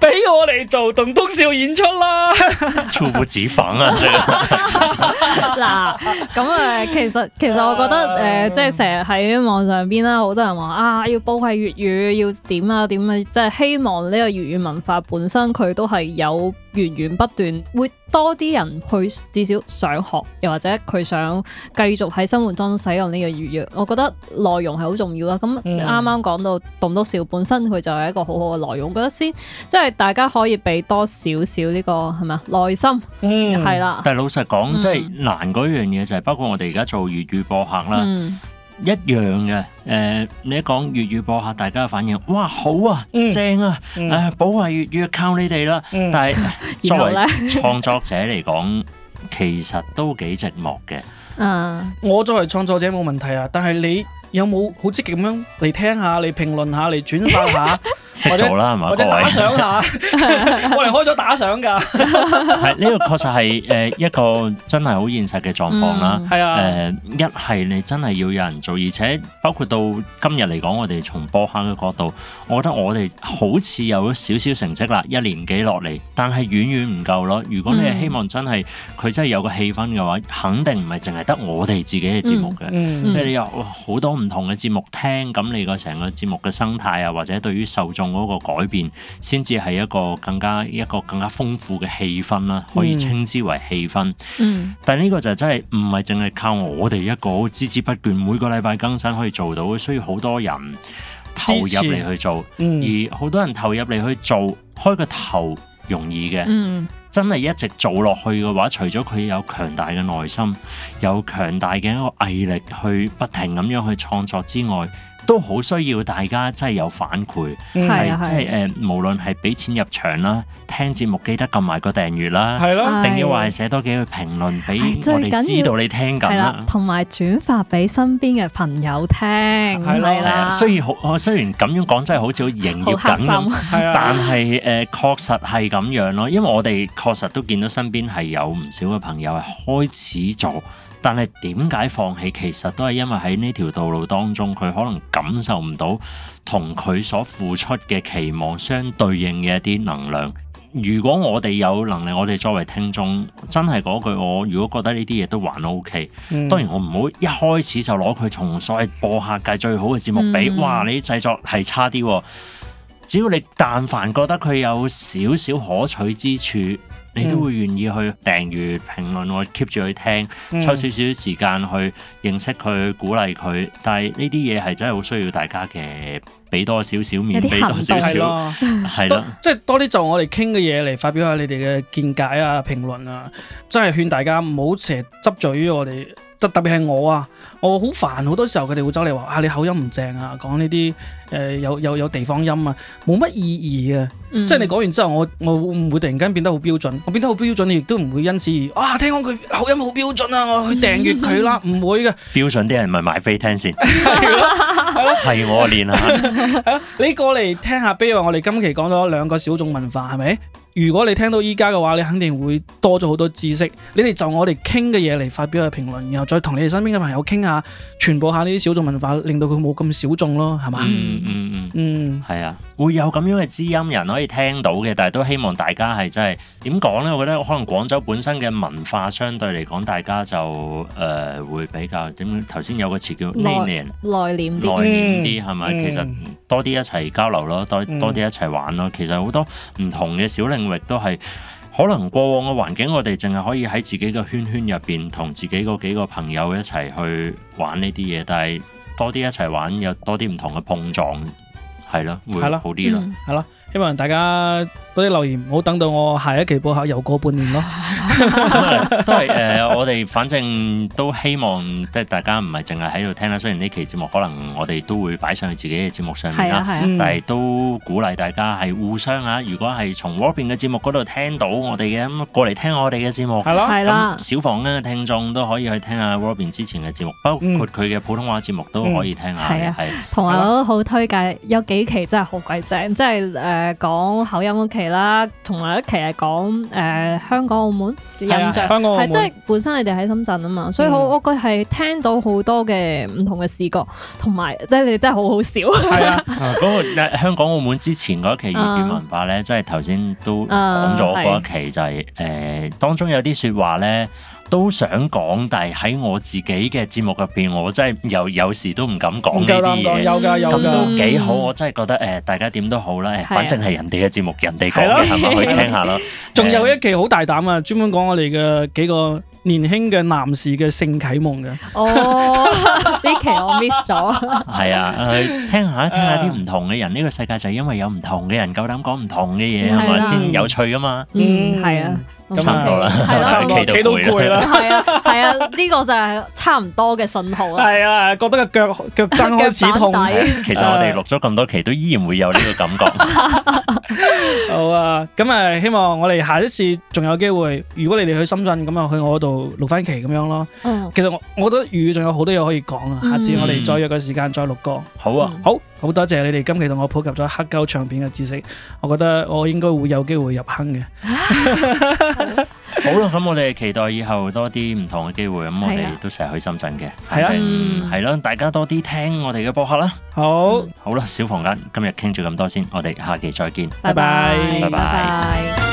俾我嚟做棟篤笑演出啦！ 猝不及防啊！真係嗱，咁其實我覺得即係成日喺網上邊啦，好多人話啊，要保衞粵語，要點啊點啊，即係希望呢個粵語文化本身佢都係有源源不斷，會多啲人去至少想學，又或者佢想繼續喺生活當中使用呢個粵語。我覺得內容係好重要啦。咁啱啱講到棟篤笑本身佢就係一個好好嘅內容，我覺得先即係大家可以俾多少少呢個係咪耐心，係啦。 但係老實講，即係難嗰樣嘢就係包括我哋而家做粵語播客啦。一樣嘅，你一講粵語播客，大家嘅反應，哇，好啊，正啊，保衞粵語靠你哋啦。但係作為創作者嚟講，其實都幾寂寞嘅。 我作為創作者冇問題啊，但係你有冇好積極咁樣嚟聽下、嚟評論下、嚟轉發下？ 識做啦，係嘛？ 或者打賞下，我哋開咗打賞㗎。 係呢個確實係一個真係好現實嘅狀況啦。 係啊， 一係你真係要有人做，而且包括到今日嚟講，我哋從播客嘅角度，我覺得我哋好似有咗少少成績啦，一年幾落嚟，但係遠遠唔夠咯。如果你係希望真係佢真係有個氣氛嘅話，肯定唔係淨係得我哋自己嘅節目嘅，即係你有好多唔同嘅節目聽，咁你個成個節目嘅生態啊，或者對於受眾嗰個改變，先至係一個更加豐富嘅氣氛啦，可以稱之為氣氛。但係呢個就真係唔係淨係靠我哋一個孜孜不倦，每個禮拜更新可以做到，需要好多人投入嚟去做，而好多人投入嚟去做，開個頭容易嘅，真係一直做落去嘅話，除咗佢有強大嘅耐心，有強大嘅一個毅力去不停咁樣去創作之外，都好需要大家真係有反饋，係即係無論係俾錢入場啦，聽節目記得撳埋個訂閱啦，係咯，定要話係寫多幾句評論俾我哋知道你聽緊啦， 同埋轉發俾身邊嘅朋友聽，係啦。 雖然咁樣講真係好似好營業緊咁，但係確實係咁樣咯，因為我哋確實都見到身邊係有唔少嘅朋友係開始做。但係點解放棄？其實都係因為喺呢條道路當中，佢可能感受唔到同佢所付出嘅期望相對應嘅一啲能量。如果我哋有能力，我哋作為聽眾，真係嗰句，我如果覺得呢啲嘢都還 OK，當然我唔好一開始就攞佢從所謂播客界最好嘅節目比，哇！你啲製作係差啲喎。只要你但凡覺得佢有少少可取之處，你都會願意去訂閱、評論，我 keep 住去聽，抽少少時間去認識佢、鼓勵佢。但係呢啲嘢係真係好需要大家嘅，俾多少少面，俾多少少，係咯，即係多啲就我哋傾嘅嘢嚟發表下你哋嘅見解啊、評論啊，真係勸大家唔好成日執著於我哋。特別係我啊，我好煩，好多時候佢哋會走嚟話啊，你口音唔正啊，講呢啲有地方音啊，冇乜意義啊。即係你講完之後，我會唔會突然間變得好標準？我變得好標準，你亦都唔會因此而聽講佢口音好標準啊，我去訂閱佢啦，唔會嘅。標準啲人咪買飛聽先，係我練下。你過嚟聽下，比如話我哋今期講咗2個小眾文化，係咪？如果你聽到依家嘅話，你肯定會多咗好多知識。你哋就我哋傾嘅嘢嚟發表下評論，然後再同你哋身邊嘅朋友傾下，傳播下呢啲小眾文化，令到佢冇咁小眾咯，係嘛？係啊，會有咁樣嘅知音人可以聽到嘅，但係都希望大家係真係點講呢？我覺得可能廣州本身嘅文化相對嚟講，大家就會比較點？頭先有個詞叫內斂啲係咪？其實多啲一齊交流咯，多啲一齊玩咯。其實好多唔同嘅小領域都係可能過往嘅環境，我哋淨係可以喺自己嘅圈入邊同自己嗰幾個朋友一齊去玩呢啲嘢，但係多啲一齊玩，有多啲唔同嘅碰撞，係咯，會好啲咯，係咯。希望大家多啲留言，唔好等到我下一期播客又過半年咯。都係我哋反正都希望即係大家唔係淨係喺度聽啦。雖然呢期節目可能我哋都會擺上去自己嘅節目上面啦，但係都鼓勵大家係互相啊。如果係從 Robin 嘅節目嗰度聽到我哋嘅，咁過嚟聽我哋嘅節目，係啦。小房嘅聽眾都可以去聽下 Robin 之前嘅節目，包括佢嘅普通話節目都可以聽下。係同埋我都好推介，有幾期真係好鬼正，即係講口音嗰期啦，同埋一期係講香港澳門印象， 香港澳門係即係本身你哋喺深圳啊嘛，所以我覺係聽到好多嘅唔同嘅視覺，同埋即係你哋真係好好笑。 係啊， 嗰個香港澳門之前嗰一期粵語文化咧，即係頭先都講咗嗰一期就係當中有啲説話咧。都想講，但係喺我自己嘅節目入邊，我真係有時都唔敢講呢啲嘢。 有㗎， 咁都幾好，我真係覺得大家點都好啦。反正係人哋嘅節目，人哋講嘅係咪去聽下咯？ 仲有一期好大膽啊，專門講我哋嘅幾個年輕嘅男士嘅性啟蒙嘅。 哦，呢期我 miss 咗。 係啊，聽下啲唔同嘅人，呢個世界就係因為有唔同嘅人夠膽講唔同嘅嘢，係咪先有趣噶嘛？ 係啊。 差唔多啦， 企到攰啦。 係啊，呢個就係差唔多嘅信號啦。 係啊，覺得個腳踭開始痛。 其實我哋錄咗咁多期，都依然會有呢個感覺。 好啊，咁希望我哋下一次仲有機會，如果你哋去深圳，咁去我度錄翻期咁樣咯。其實我覺得粵語仲有好多嘢可以講啊。下次我哋再約個時間再錄歌。 好啊， 好多謝你哋今期同我普及咗黑膠唱片嘅知識，我覺得我應該會有機會入坑嘅。 好啦，咁我哋期待以後多啲唔同嘅機會，咁我哋都成日去深圳嘅，反正係咯，大家多啲聽我哋嘅播客啦。 好， 好啦，小房間今日傾住咁多先，我哋下期再見， 拜拜， 拜拜。